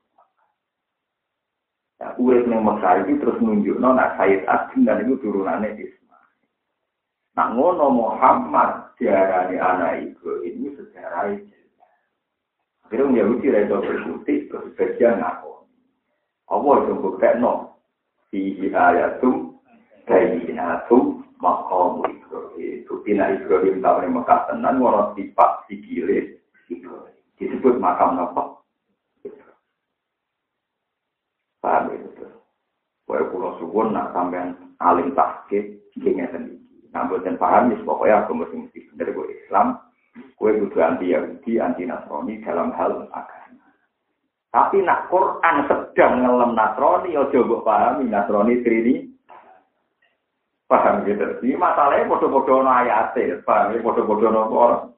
Ya urip nang Mekah iki terus nunjukno nek Sayyid Agim dan iku turunane Ismail. Nah ngono Muhammad diarani anak iku ini sejarah itu. Akhirnya Yahudi redo berbukti terus bagian ngaku. Allah itu buktekno fihi ayatum kainatum maqam Ibrahim. Buktina Ibrahim tahun Mekah tenan ora tipak sikile Ibrahim. Disebut makam apa? Paham itu. Kowe kula suwun nak sampean alim tahqiq iki ngeten iki. Namboten paham wis pokoke aku mesti bener kok Islam. Kowe kudu anti Yahudi, anti Nasrani dalam hal agama. Tapi nak Quran sedang ngelem Nasrani, aja mbok pahami Nasrani trini. Paham gitu. Ini masalahnya bodoh-bodoh ana ayate, paham ya bodoh-bodoh ana ora.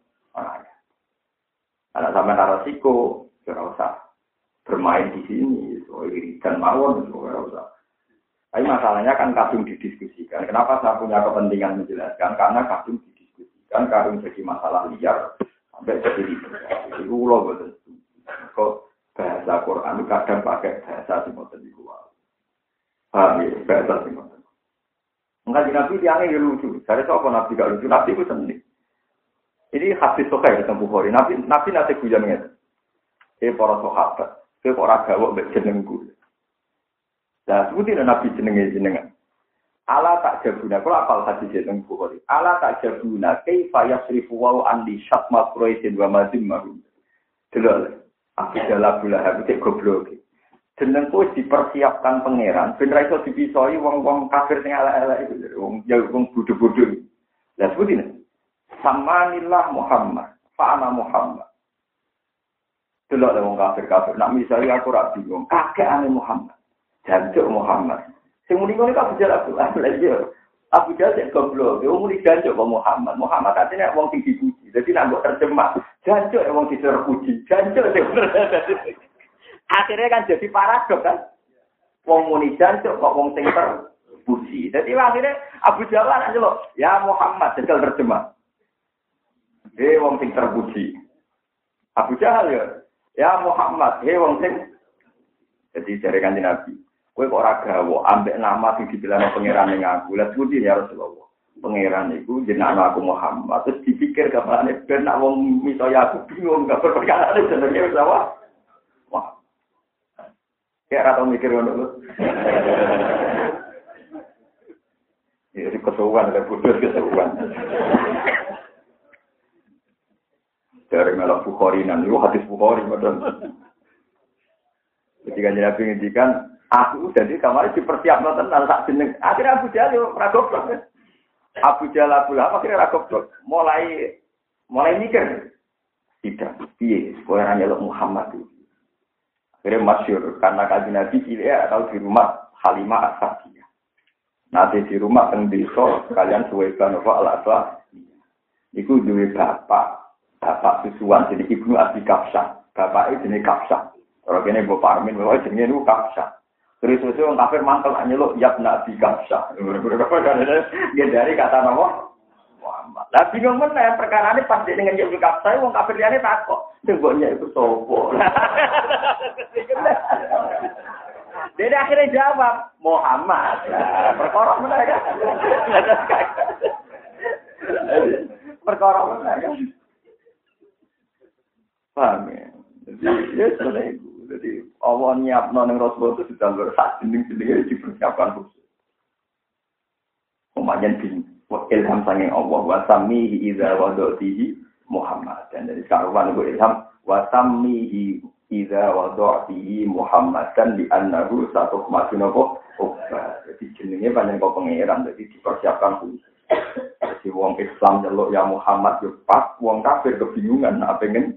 Ana sampean resiko, ora usah bermain di sini, so irikan mawon ora usah. Tapi masalahnya kan kadung didiskusikan. Kenapa saya punya kepentingan menjelaskan? Karena kadung didiskusikan, kadung jadi masalah liar sampai jadi ribet. Itu ulo betul. Kok bahasa Quran kadang pakai bahasa seperti itu. Paham ya, bahasa seperti itu. Enggak di Nabi tiangnya lucu. Saya tahu apa Nabi gak lucu. Nabi itu sendiri. Ini hadis Sahih tentang Bukhari. Nabi nanti guyon para sahabat. Para gawok mbek jenengku. Nah, sebutin Nabi jenengan. Ala tak jabuna. Kalau apal hadis tentang Bukhari. Ala tak jabuna. Kaifa yasrifu wa andi syatma Quraisyin wa mazimahum. Delok. Aku dalah Lahab cek goblok. Jenengku dipersiapkan pangeran ben ra iso dipisoi wong-wong kafir sing elek-elek iku, wong bodho-bodho. Lah sebutin. Samanillah Muhammad, fa ana Muhammad. Delok wong kafir-kafir, nak misale aku ra bingung, kakekane Muhammad. Jancuk Muhammad. Sing muni ngono kok bicara aku. Abu Jahal cek goblok, wong muni jancuk kok Muhammad. Muhammad artinya wong sing dipuji. Dadi nek mbok terjemah, jancuk wong terpuji. Jancuk akhirnya kan jadi paradok kan. Wong muni jancuk kok wong sing terpuji. Dadi akhirnya Abu Jahal aja lho, ya Muhammad jajal terjemah. Wong sing terpuji. Abu Jahal ya Muhammad, wong sing jadi jare Kanjeng Nabi. Kowe kok ora gawe ambek nama sing dibilangno pangeran ning aku. Lah sebuti ya Rasulullah. Pangeran iku jenenge aku Muhammad. Terus dipikir kapan ben nak wong misaya aku bingung gak perkara jenenge wis apa. Wah. Kayak ora tau mikir ngono lho. Ya kesuwan ada bodoh kesuwan. Dari malah Bukhari nan, itu hadis Bukhari padahal. Ketika Nabi ngendikan Aku jadi kemarin dipersiapkan tentang tak jeneng. Akhirnya Abu Jahal yo ora goblok. Abu Jahal Abu Lahab akhirnya ora goblok. Mulai mikir. Tidak. Piye supaya nyeluk Muhammad itu. Akhirnya masyhur karena kanjeng Nabi cilik atau di rumah Halimah As-Sa'diyah. Nanti di rumah teng desa kalian suwekan apa al-aswa. Iku duwe bapak susuan jadi Ibnu Abi Kafsah. Bapake jenenge Kafsah. Ora kene Mbok Parmin wae jenenge niku Kafsah. Terus wong kafir mantel nyeluk Yabna Abi Kafsah. Dari kata nama Muhammad. Lah bingung meneh perkarane pas dengan Abi Kafsah wong kafir liyane takok. Sing mboknya iku sapa? Dia akhirnya jawab Muhammad. Perkara meneh kan. Perkara meneh kan. Paham ya? Ya sudah itu. Jadi Allah nyiapno ning Rasul itu sudah sak jeneng-jenenge dipersiapkan khusus. Umayan bin ilham sanging Allah wa samihi idza wadatihi Muhammad. Dan dari sekarang itu ilham wa samihi idza wadatihi Muhammad dan di annahu satu masinopo. Jadi jenenge panjang kok pangeran jadi dipersiapkan khusus. Jadi wong Islam nyeluk ya Muhammad yo pas wong kafir kebingungan apa pengen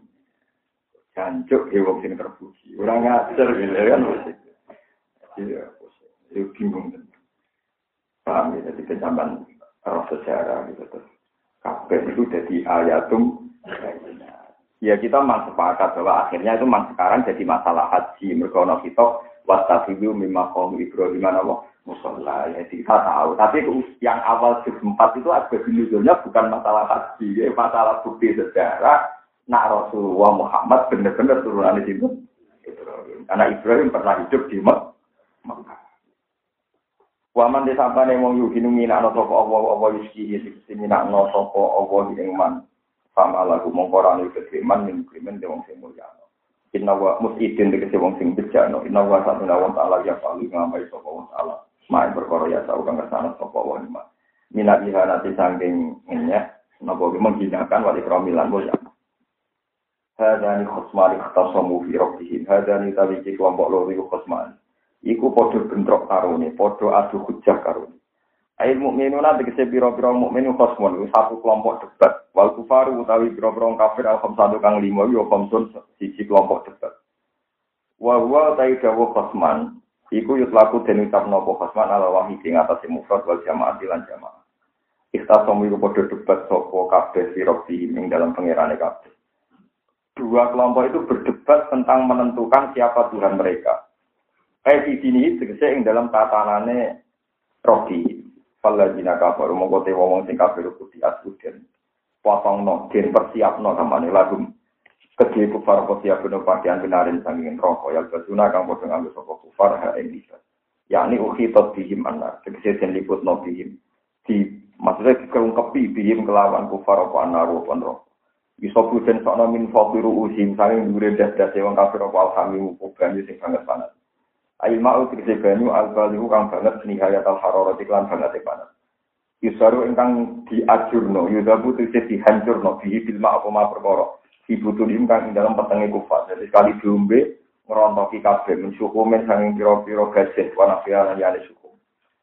jancuk wong sing terpuji. Ora ngajar gitu kan. Iya, itu bingung. Paham ya, jadi kecaman roh sejarah gitu terus. Kabeh itu jadi ayatum. Ya kita memang sepakat bahwa akhirnya itu memang sekarang jadi masalah haji. Mergo ana kita wastafidu mimma qaum Ibrahim wa musalla. Ya kita tahu, tapi yang awal juz 4 itu ada binuzulnya bukan masalah haji, ya masalah bukti sejarah. Nak Rasulullah Muhammad benar-benar turunan di situ. Karena Ibrahim pernah hidup di Mekah. Waman disampane wong yuhinu minakno sapa Allah yuski sing minakno sapa Allah ing man. Sama lagu mongkorane ketriman ning krimen de wong sing mulya. Inna wa musidin tegese wong sing bejano. Inna wa satuna wa ta'ala ya paling ngambai sapa wong ta'ala. Main perkara ya tau kang kesana sapa wong iman. Minat ihanati sangking ngenyek napa menghinakan wali kramilan mulya. Hadani khosmani khatasamu fi rabbihim. Hadani tawiki kelompok loro iku khosmani. Iku padha bentrok karone, padha adu hujjah karone. Ail mukminuna tegese pira-pira mukmin khosmun iku satu kelompok debat. Wal kufaru utawi pira-pira kafir al-khamsatu kang 5 yo khamsun siji kelompok debat. Wa huwa taidawu khosman. Iku yutlaku den ucapno apa khosman ala wahid ing atase mufrad wal jamaah lan jamaah. Ikhtasamu iku padha debat sapa kabeh fi rabbihim ing dalam pangerane kabeh. Dua kelompok itu berdebat tentang menentukan siapa Tuhan mereka. Di sini tegese ing dalam tatanane Robi. Falajina kafir mongko te wong sing kafir kudu asuden. Potongno den persiapno kamane lagu. Kedhe kufar siap bener pakaian benarin sanging rokok ya baduna kang padha nganggo sapa kufar ha ing bisa. Yakni ukhitat bihim anna tegese den liputno bihim. Maksudnya dikelungkepi bihim kelawan kufar apa anaru apa iso pujen sono min faqiru usim saling dure das-das wong kafir apa alhamimu kuban sing banget panas. Ail ma'u tegese banyu al-balihu kang banget nihayat al-hararat iklan banget panas. Yusaru ingkang diajurno yudabu tegese dihancurno bihi bil ma'u apa perkara. Dibutuhin kang ing dalam petenge kufar. Jadi sekali diombe ngerontoki kabeh mensyukumen sanging pira-pira gajet wana fialan yane syukum.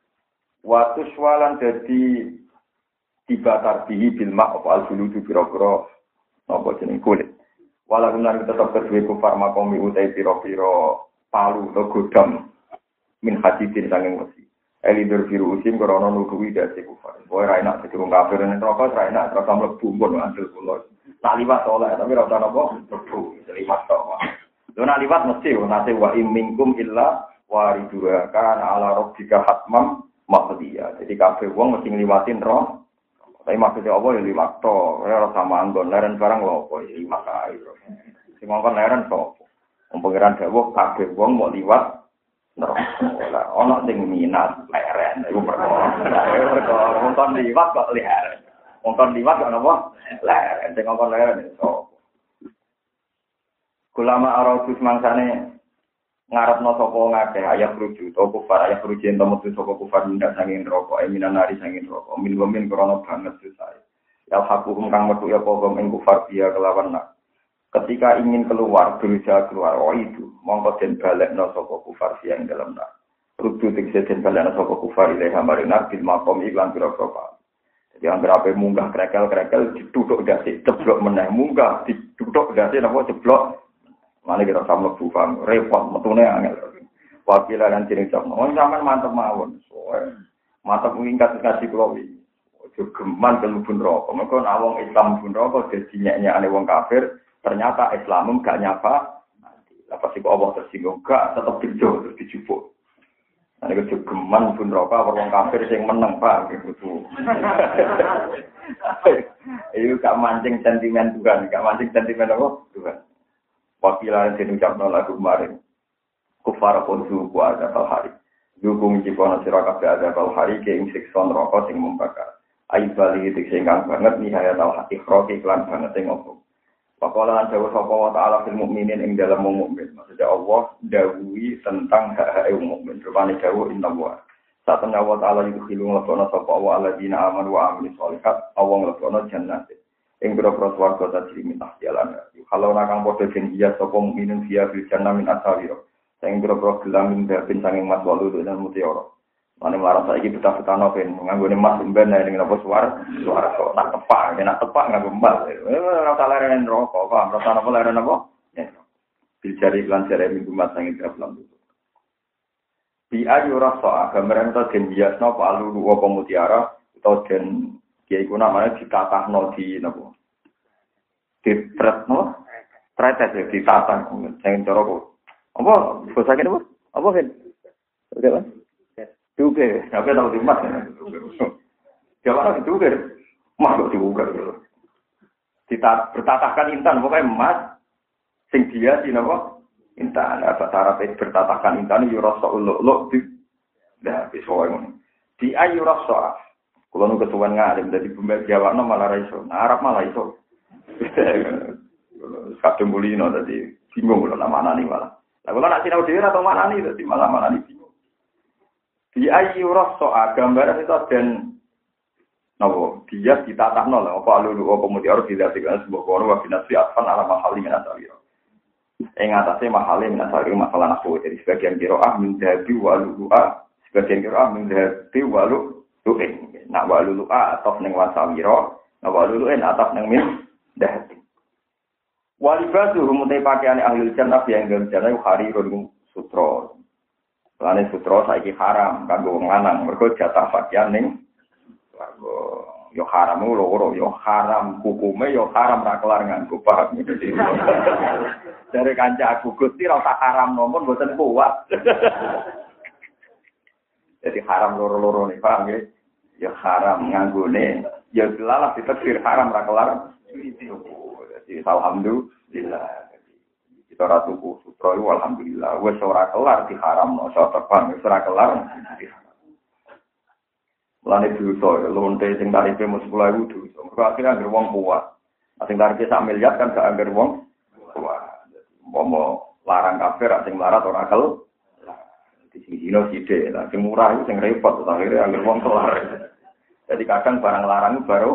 Watu swalan dadi dibatar bihi bil ma'u al-buludu pira-pira apa jeneng kulit. Walau benar tetap kedua kufar makomi utai piro-piro palu atau godam min hadidin sanging wesi. Elidur biru usim korona nudui dari kufar. Boy raina sedurung kafir dan rokok raina terasa melebu pun ngantil pulau. Tak liwat soleh tapi rasa nopo melebu liwat toh. Lo nak liwat mesti nasi wa imingkum illa waridua kan ala robbika hatmam maqdiya. Jadi kafir wong mesti ngliwatin roh. Tapi maksudnya apa ya liwat to, ya sama anggon leren barang lho apa ya liwat ae. Sing ngongkon leren to. Wong pangeran dawuh kabeh wong mau liwat neraka. Ana sing minat leren iku perkara. Wong kon liwat kok leren. Wong kon liwat kok napa? Leren. Sing ngongkon leren to. Kulama aratus mangsane ngarepno sapa ngakeh ayat rujuk to kufar ayat rujuk ento metu sapa kufar ndak sanging rokok eminan nari sanging rokok min krono banget susah ya hakum kang metu ya apa ing kufar dia kelawan nak Ketika ingin keluar, berusaha keluar, oh itu, mongko den balekno sapa kufar yang dalam nar. Rudu tegese den balekno sapa kufar ilaha marinar bil maqam iklan pira-pira. Jadi anggere ape munggah krekel-krekel dituthuk dasi ceblok meneh munggah dituthuk dasi napa ceblok. Mane kira sama bufang repot metune angel. Wakila lan jeneng sapa. Wong sampean mantep mawon. Mantep ngingkat kasih kula iki. Ojo geman kelubun rokok. Mergo nek wong Islam bun rokok dadi nyek-nyekane wong kafir. Ternyata Islam gak nyapa, lah pasti kok Allah tersinggung gak, tetap dijo terus dijupuk. Nah itu geman pun rokok, orang kafir yang menang pak, gitu. Itu gak mancing sentimen Tuhan, gak mancing sentimen apa Tuhan. Wakilan yang diucapkan lagu kemarin, kufar pun suku ada kalhari. Dukung cipono sirakabe ada kalhari, keing sikson rokok sing membakar. Aib balik itu singgang banget, nihaya tau hati kroki iklan banget yang ngomong. Pakola dawuh sapa wa ta'ala fil mukminin ing dalam mukmin. Maksudnya Allah dawuhi tentang hak-hak mukmin. Rupane dawuh inna wa. Satana wa ta'ala itu khilung lakono sapa wa alladzina amanu wa amilus sholihat awang lakono jannat. Ing boro-boro swarga tajri min tahtihalan. Kalau nakang padha janjiya sapa mukminin via bil jannah min asawira. Sing boro-boro gelam ing dapin sanging mas walu dan mutiara. Mane marang saiki betah-betahno ben nganggone mas ben ning napa suara kok tak tepak, nek tepak nganggo mas. Ora usah leren rokok, Pak. Ora usah napa leren apa? Bicara iklan jare minggu mas sing dalam itu. Di ayu rasa gambaran to den biasno apa alu apa mutiara utawa den kiai ku namanya ditatahno di napa? Ditretno, tretes ditatah sing cara kok. Apa bahasa kene apa? Apa kan? Oke, Pak. Juga, apa tahu di mas? Jangan itu kan, mas juga. Kita bertatahkan intan, pokoknya emas, sing dia sih napa intan. Apa cara bertatahkan intan? Yurasa uluk di, dah bisoalnya. Di ayurasa, kalau nu ketuan ngalim dari pembeli Jawa no malah raiso, Arab malah iso. Kadang bulino tadi bingung kalau nama nani malah. Nah kalau nak sinau dia atau mana nih tadi malah mana nih. Di ayu rasa gambaran itu dan nopo dia ditatahno lah apa lulu apa mutiara dilatihkan sebuah kono wa binasi atfan ala mahali min asawira. Ing atase mahali min asawira masalah nahwu jadi sebagian qiraah min dhabi wa lu'a sebagian qiraah min dhabi wa lu'in. Nak wa lu'a ataf ning wasawira, nak wa lu'in ataf ning min dhabi. Walibatu rumute pakaiane ahli jannah yang dalam jannah harirun sutra. Lane sutra saiki haram kanggo wong lanang, mergo jatah pakaian ning warga yo haram loro yo haram hukume yo haram ra kelar nganggo paham iki. Dari kanca aku Gusti ra usah haram nomor mboten kuat. Jadi haram loro-loro nih paham nggih? Yo haram nganggone yo lalah ditakdir haram ra kelar. Jadi alhamdulillah. Kita ratuku sutra itu alhamdulillah. Wes ora kelar diharamno, ora terbang, wes ora kelar. Lane dosa, lonte sing tarife mung 10.000 dosa. Mergo akhire anggere wong kuat. Sing tarife sak miliar kan gak anggere wong kuat. Momo larang kafir sing melarat ora kel. Di sini sithik, lah sing murah itu sing repot akhire anggere wong kelar. Jadi kadang barang larang baru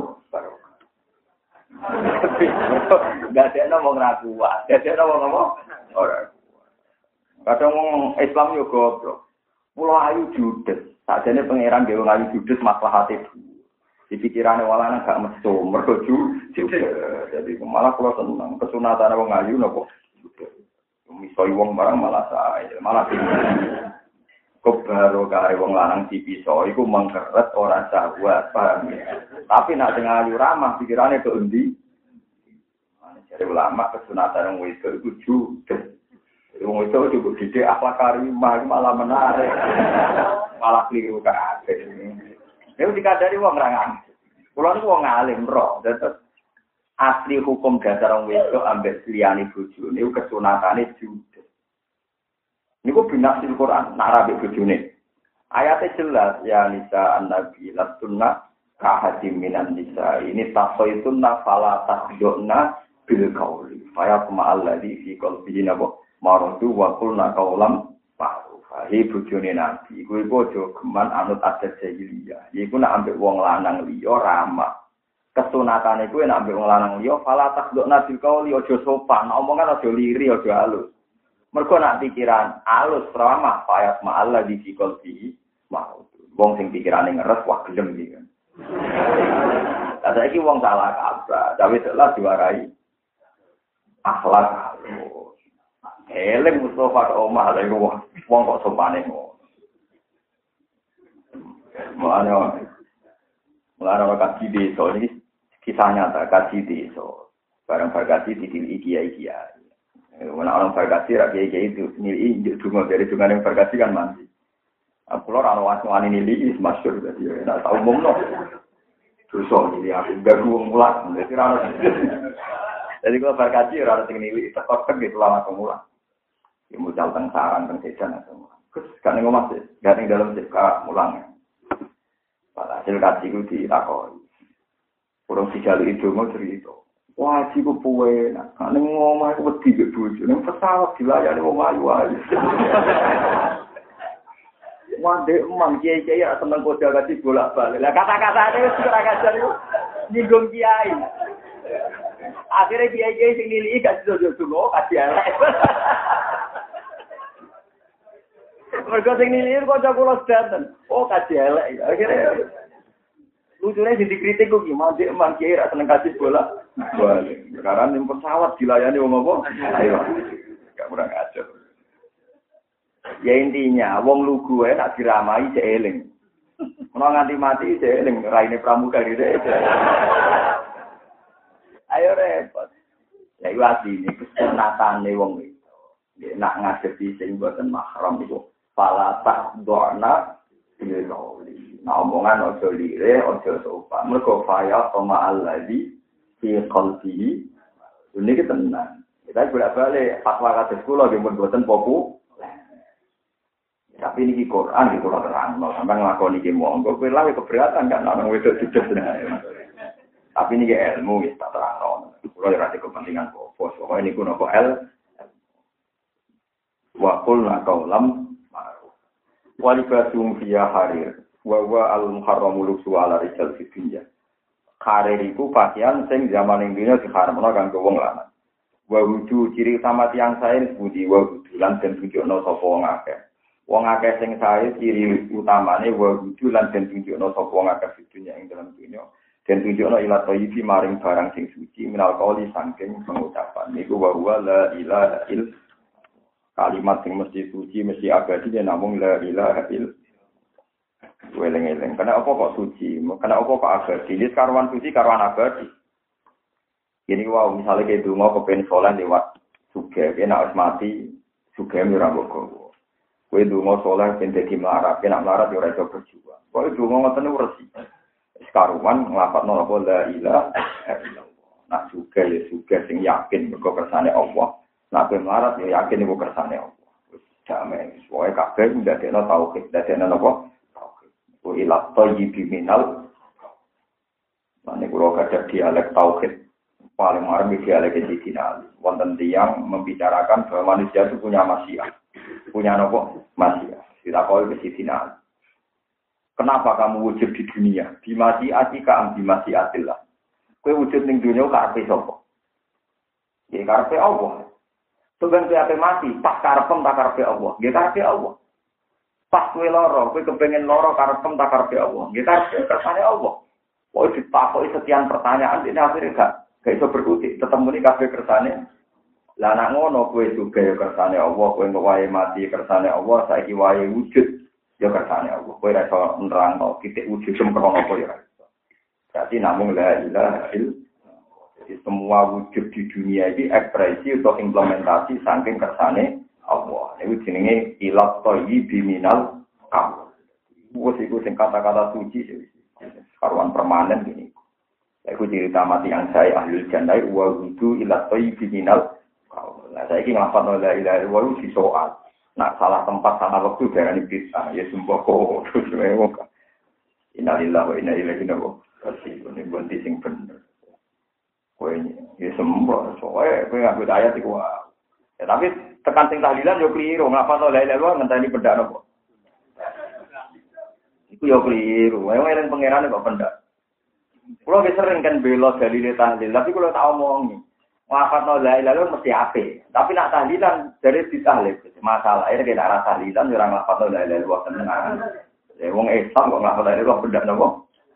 Gak ada ngomong ragu, gak ada ngomong orang. Kadang ngomong Islam yo goblok. Pulau ayu judes, sajane pangeran dhewe ayu judes maslahat itu. Di pikirane walane gak mesum, mergo judes. Jadi malah kula seneng kesunatan wong ayu napa judes. Misoi wong barang malah sae, malah kebaro kare wong lanang dipiso iku mengkeret ora syahwat paham ya. Tapi nek sing ayu ramah pikirane ke endi? Jadi ulama kesunatan wong wedok iku judes. Wong wedok cukup didik akhlak karimah malah menarik. Malah keliru kabeh. Nek dikadari wong rangan. Kulo niku wong alim roh, terus asli hukum dasar wong wedok ambek liyane bojone niku kesunatane judes. Niku binasil Quran, nak rabi bojone. Ayatnya jelas, ya nisa an-nabi lastunna kahadim minan nisa. Ini tasoitunna fala tahdokna bil kauli. Faya kuma'alladhi fi kolbihi nabo marodu wa kulna kaulam ma'rufah. Hei bojone nabi, iku aja geman anut adat jahiliyah. Iku nak ambek wong lanang liya ramah. Kesunatan iku nek ambek wong lanang liya fala takdukna bil qauli aja sopan, omongan aja liri aja halus. Mergo nak pikiran halus ramah payat ma'alla di qalbi mau. Wong sing pikirane ngeres wah gelem iki kan. Saiki wong salah kaprah, tapi telah diwarai akhlak halus. Eleng Mustafa ke omah lha iku wong kok sopane ngono. Mulane kaji desa iki kisah nyata kaji desa. Barang berkati di kiai-kiai. Orang berkati rakyat itu nilai cuma dari cuma yang berkati kan mandi. Aku lor anak wani nilai is masyur jadi nak tahu umum no. Terus nilai aku gak gua mulat. Jadi kalau berkati orang tinggi nilai tekor gitu lama kemulan. Ibu jauh teng sarang teng sejan semua. Terus kan ngomong sih, gak ning dalam sika mulang. Pada hasil kaji itu ditakoi. Kurang dijalui itu mau cerita. Wah, ciku puwe, nak neng ngomong aku wedi ke bojo, neng pesawat dilayani wong ayu-ayu. Wah, dek emang kiai-kiai ya seneng kode kaji bolak-balik. Lah kata-katane wis ora kajar iku nyinggung kiai. Akhirnya kiai-kiai sing nilai gak jojo-jojo kaji elek. Mergo sing nilai kok kula sedanten. Oh, kaji elek. Akhirnya lucunya sing dikritik kok gimana dek emang kiai ra seneng kaji bola. Balik. Sekarang yang pesawat dilayani wong apa? Ayo. Gak kurang ajar. Ya intinya wong lugu ae nak diramai cek eling. Ono nganti mati cek eling raine pramuka gitu. Ayo repot. Ya iku asline kesunatane wong itu. Nek nak ngadepi sing boten mahram iku fala tak doana diloli. Nah omongan ojo lire, ojo sopan. Mergo faya sama alladzi fi qalbi ini kita tenang. Kita bolak-balik fatwa kados kula nggih mun boten populer. Tapi ini Quran iki kula terangno, sampeyan nglakoni iki monggo kowe lawe keberatan kan ana wedok judes. Tapi ini ilmu wis tak terangno. Kula ora ada kepentingan bos. Pokoke niku napa wa qulna qaulam ma'ruf. Wa libasum fiya harir wa wa al-muharramu luksu ala rijal fid dunya. Karir iku pakaian sing zaman ning dunya diharamno kanggo wong lanang. Wa wudu ciri utama tiyang sae budi wa wudu lan den tunjukno sapa wong akeh. Wong akeh sing sae ciri utamane wa wudu lan den tunjukno sapa wong akeh di dunya ing dalam dunya. Den tunjukno ila thayyibi maring barang sing suci minal qauli saking pengucapan. Niku wa la ilaha il kalimat sing mesti suci mesti abadi namung la ilaha il weleng-eleng. Karena apa kok suci? Karena apa kok abadi? Ini karuan suci, karuan abadi. Ini wow, misalnya kayak dungo kepen sholat lewat suge, kena harus mati, suge mirambok gowo. Kue dungo sholat pengen jadi melarat, kena melarat ya orang berjuang. Kue dungo ngoten ursi. Karuan ngelapat nopo la ilaha illallah. Nah suge ya suge sing yakin mergo kersane Allah. Nah kue melarat ya yakin iku kersane Allah. Jamai, soalnya kabeh ndadekno tauhid, ndadekno napa? Ilat thayyibi minal. Mane kula gadah dialek tauhid paling marem dialek dikinali. Wonten tiyang membicarakan bahwa manusia itu punya masyiah. Punya napa? Masyiah. Ditakoni ke final. Kenapa kamu wujud di dunia? Di masyiatika am di masyiatillah. Kowe wujud ning dunia karepe sapa? Ya karepe Allah. Tugan kowe ape mati, pas karepem tak karepe Allah. Nggih karepe Allah. Pas kowe lara, kowe kepengin lara karepem tak karepe Allah. Nggih karepe kersane Allah. Kok ditakoki sekian pertanyaan ini akhirnya gak iso berkutik, tetep muni kabeh kersane. Lah nek ngono kowe juga ya kersane Allah, kowe wae mati kersane Allah, saiki wae wujud ya kersane Allah. Kowe ora iso nerangno titik wujud sempurna apa ya. Berarti namung la ilaha illallah. Jadi semua wujud di dunia ini ekspresi atau implementasi saking kersane Allah. Itu jenenge ilat thayyibi minal qaul. Wes iku sing kata-kata suci karuan permanen gini. Iku cerita mati yang saya ahli jannah wa wudu ilat thayyibi minal qaul. Nah saiki nglafadzno la ilaha illallah di soal. Nah salah tempat salah waktu darani bid'ah ya semboko terus mewah. Innalillahi wa inna ilaihi raji'un. Ini bunti sing bener. Kowe ya sembah soe kowe nganggo ayat iku. Ya tapi tekan sing tahlilan yo kliru, ngapa to la ilaha illallah ngenteni pendak napa? Iku yo kliru. Wae eling pangerane kok pendak. Kulo sering kan bela dalil tahlil, tapi kulo tak omongi. Lafadzno la ilaha illallah mesti apik. Tapi nak tahlilan dari ditahlil. Masalah ini kena arah tahlilan orang lafadzno la ilaha illallah tenan. Ya wong Islam kok lafadzno la ilaha illallah benda napa?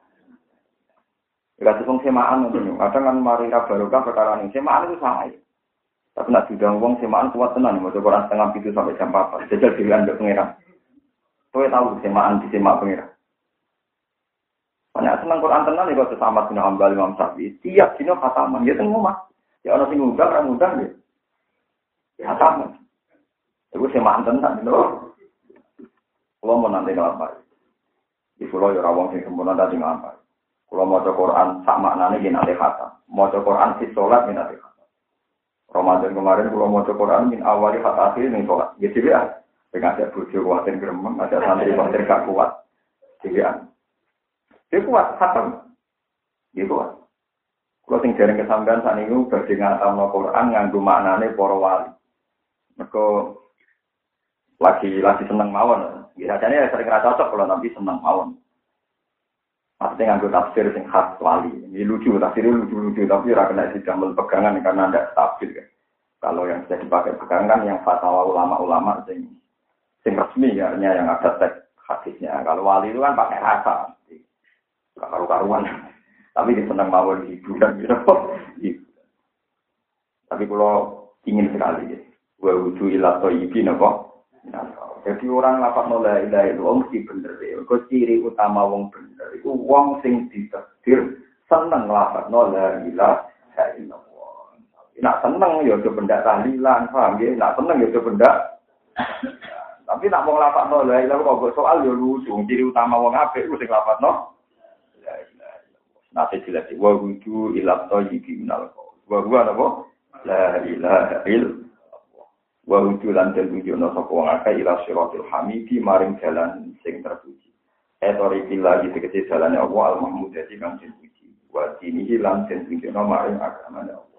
Ya kados wong semaan ngono. Kadang kan mari ra barokah perkara ning semaan itu salah. Tapi nak diundang wong semaan kuat tenan maca Quran setengah 7 sampai jam 4. Jajal dhewean mbek pangeran. Kowe tahu semaan di semak pangeran. Banyak senang Quran tenan ya kok sama bin Hambal Imam Syafi'i. Tiap dino khataman ya teng omah. Ya ana sing ngundang ra ngundang ya. Ya sama. Iku semaan tenan lho. Kulo mau nanti nglampah. Di pulau ya ora wong sing sempurna tadi nglampah. Kulo maca Quran sak maknane yen ate khatam. Maca Quran di salat yen ate khatam. Ramadan kemarin kulo maca Quran min awali hatta akhir ning salat. Ya dhewe pengen ada bojo kuatin gremeng, ada santri kuatin gak kuat. Dhewe dia kuat, khatam. Dia kuat. Kalau sing dereng kesampean sakniku badhe ngatamno Quran nganggo maknane para wali. Mergo lagi seneng mawon. Biasanya sering ra cocok kalau nanti seneng mawon. Maksudnya nganggo tafsir sing khas wali. Ini lucu, tafsirnya lucu-lucu tapi ora kena didamel pegangan karena ndak stabil kan. Kalau yang bisa dipakai pegangan yang fatwa ulama-ulama sing resmi ya, artinya yang ada teks hadisnya. Kalau wali itu kan pakai rasa. Karu-karuan, tapi dia senang mawon hiburan gitu. Tapi kalau ingin sekali, wa wudu ila thayyibin apa? Jadi orang lapat la ilaha illallah mesti bener ya. Kok ciri utama wong bener iku wong sing ditakdir seneng lapat la ilaha illallah. Nak seneng ya do benda tahlilan, paham nggih? Nak seneng ya do benda. Tapi nak wong lapat la ilaha illallah kok soal ya lucu. Ciri utama wong apik ku sing lapat Nasi jelas wa wudu ila thayyibin minal qaul. Wa huwa napa? La ilaha illallah. Wa wudu lan tentujono sapa wong akeh ila siratil hamidi maring jalan sing terpuji. Etori billahi tegese jalane Allah al-mahmud dadi kang dipuji. Wa dinihi lan tentujono maring agamane Allah.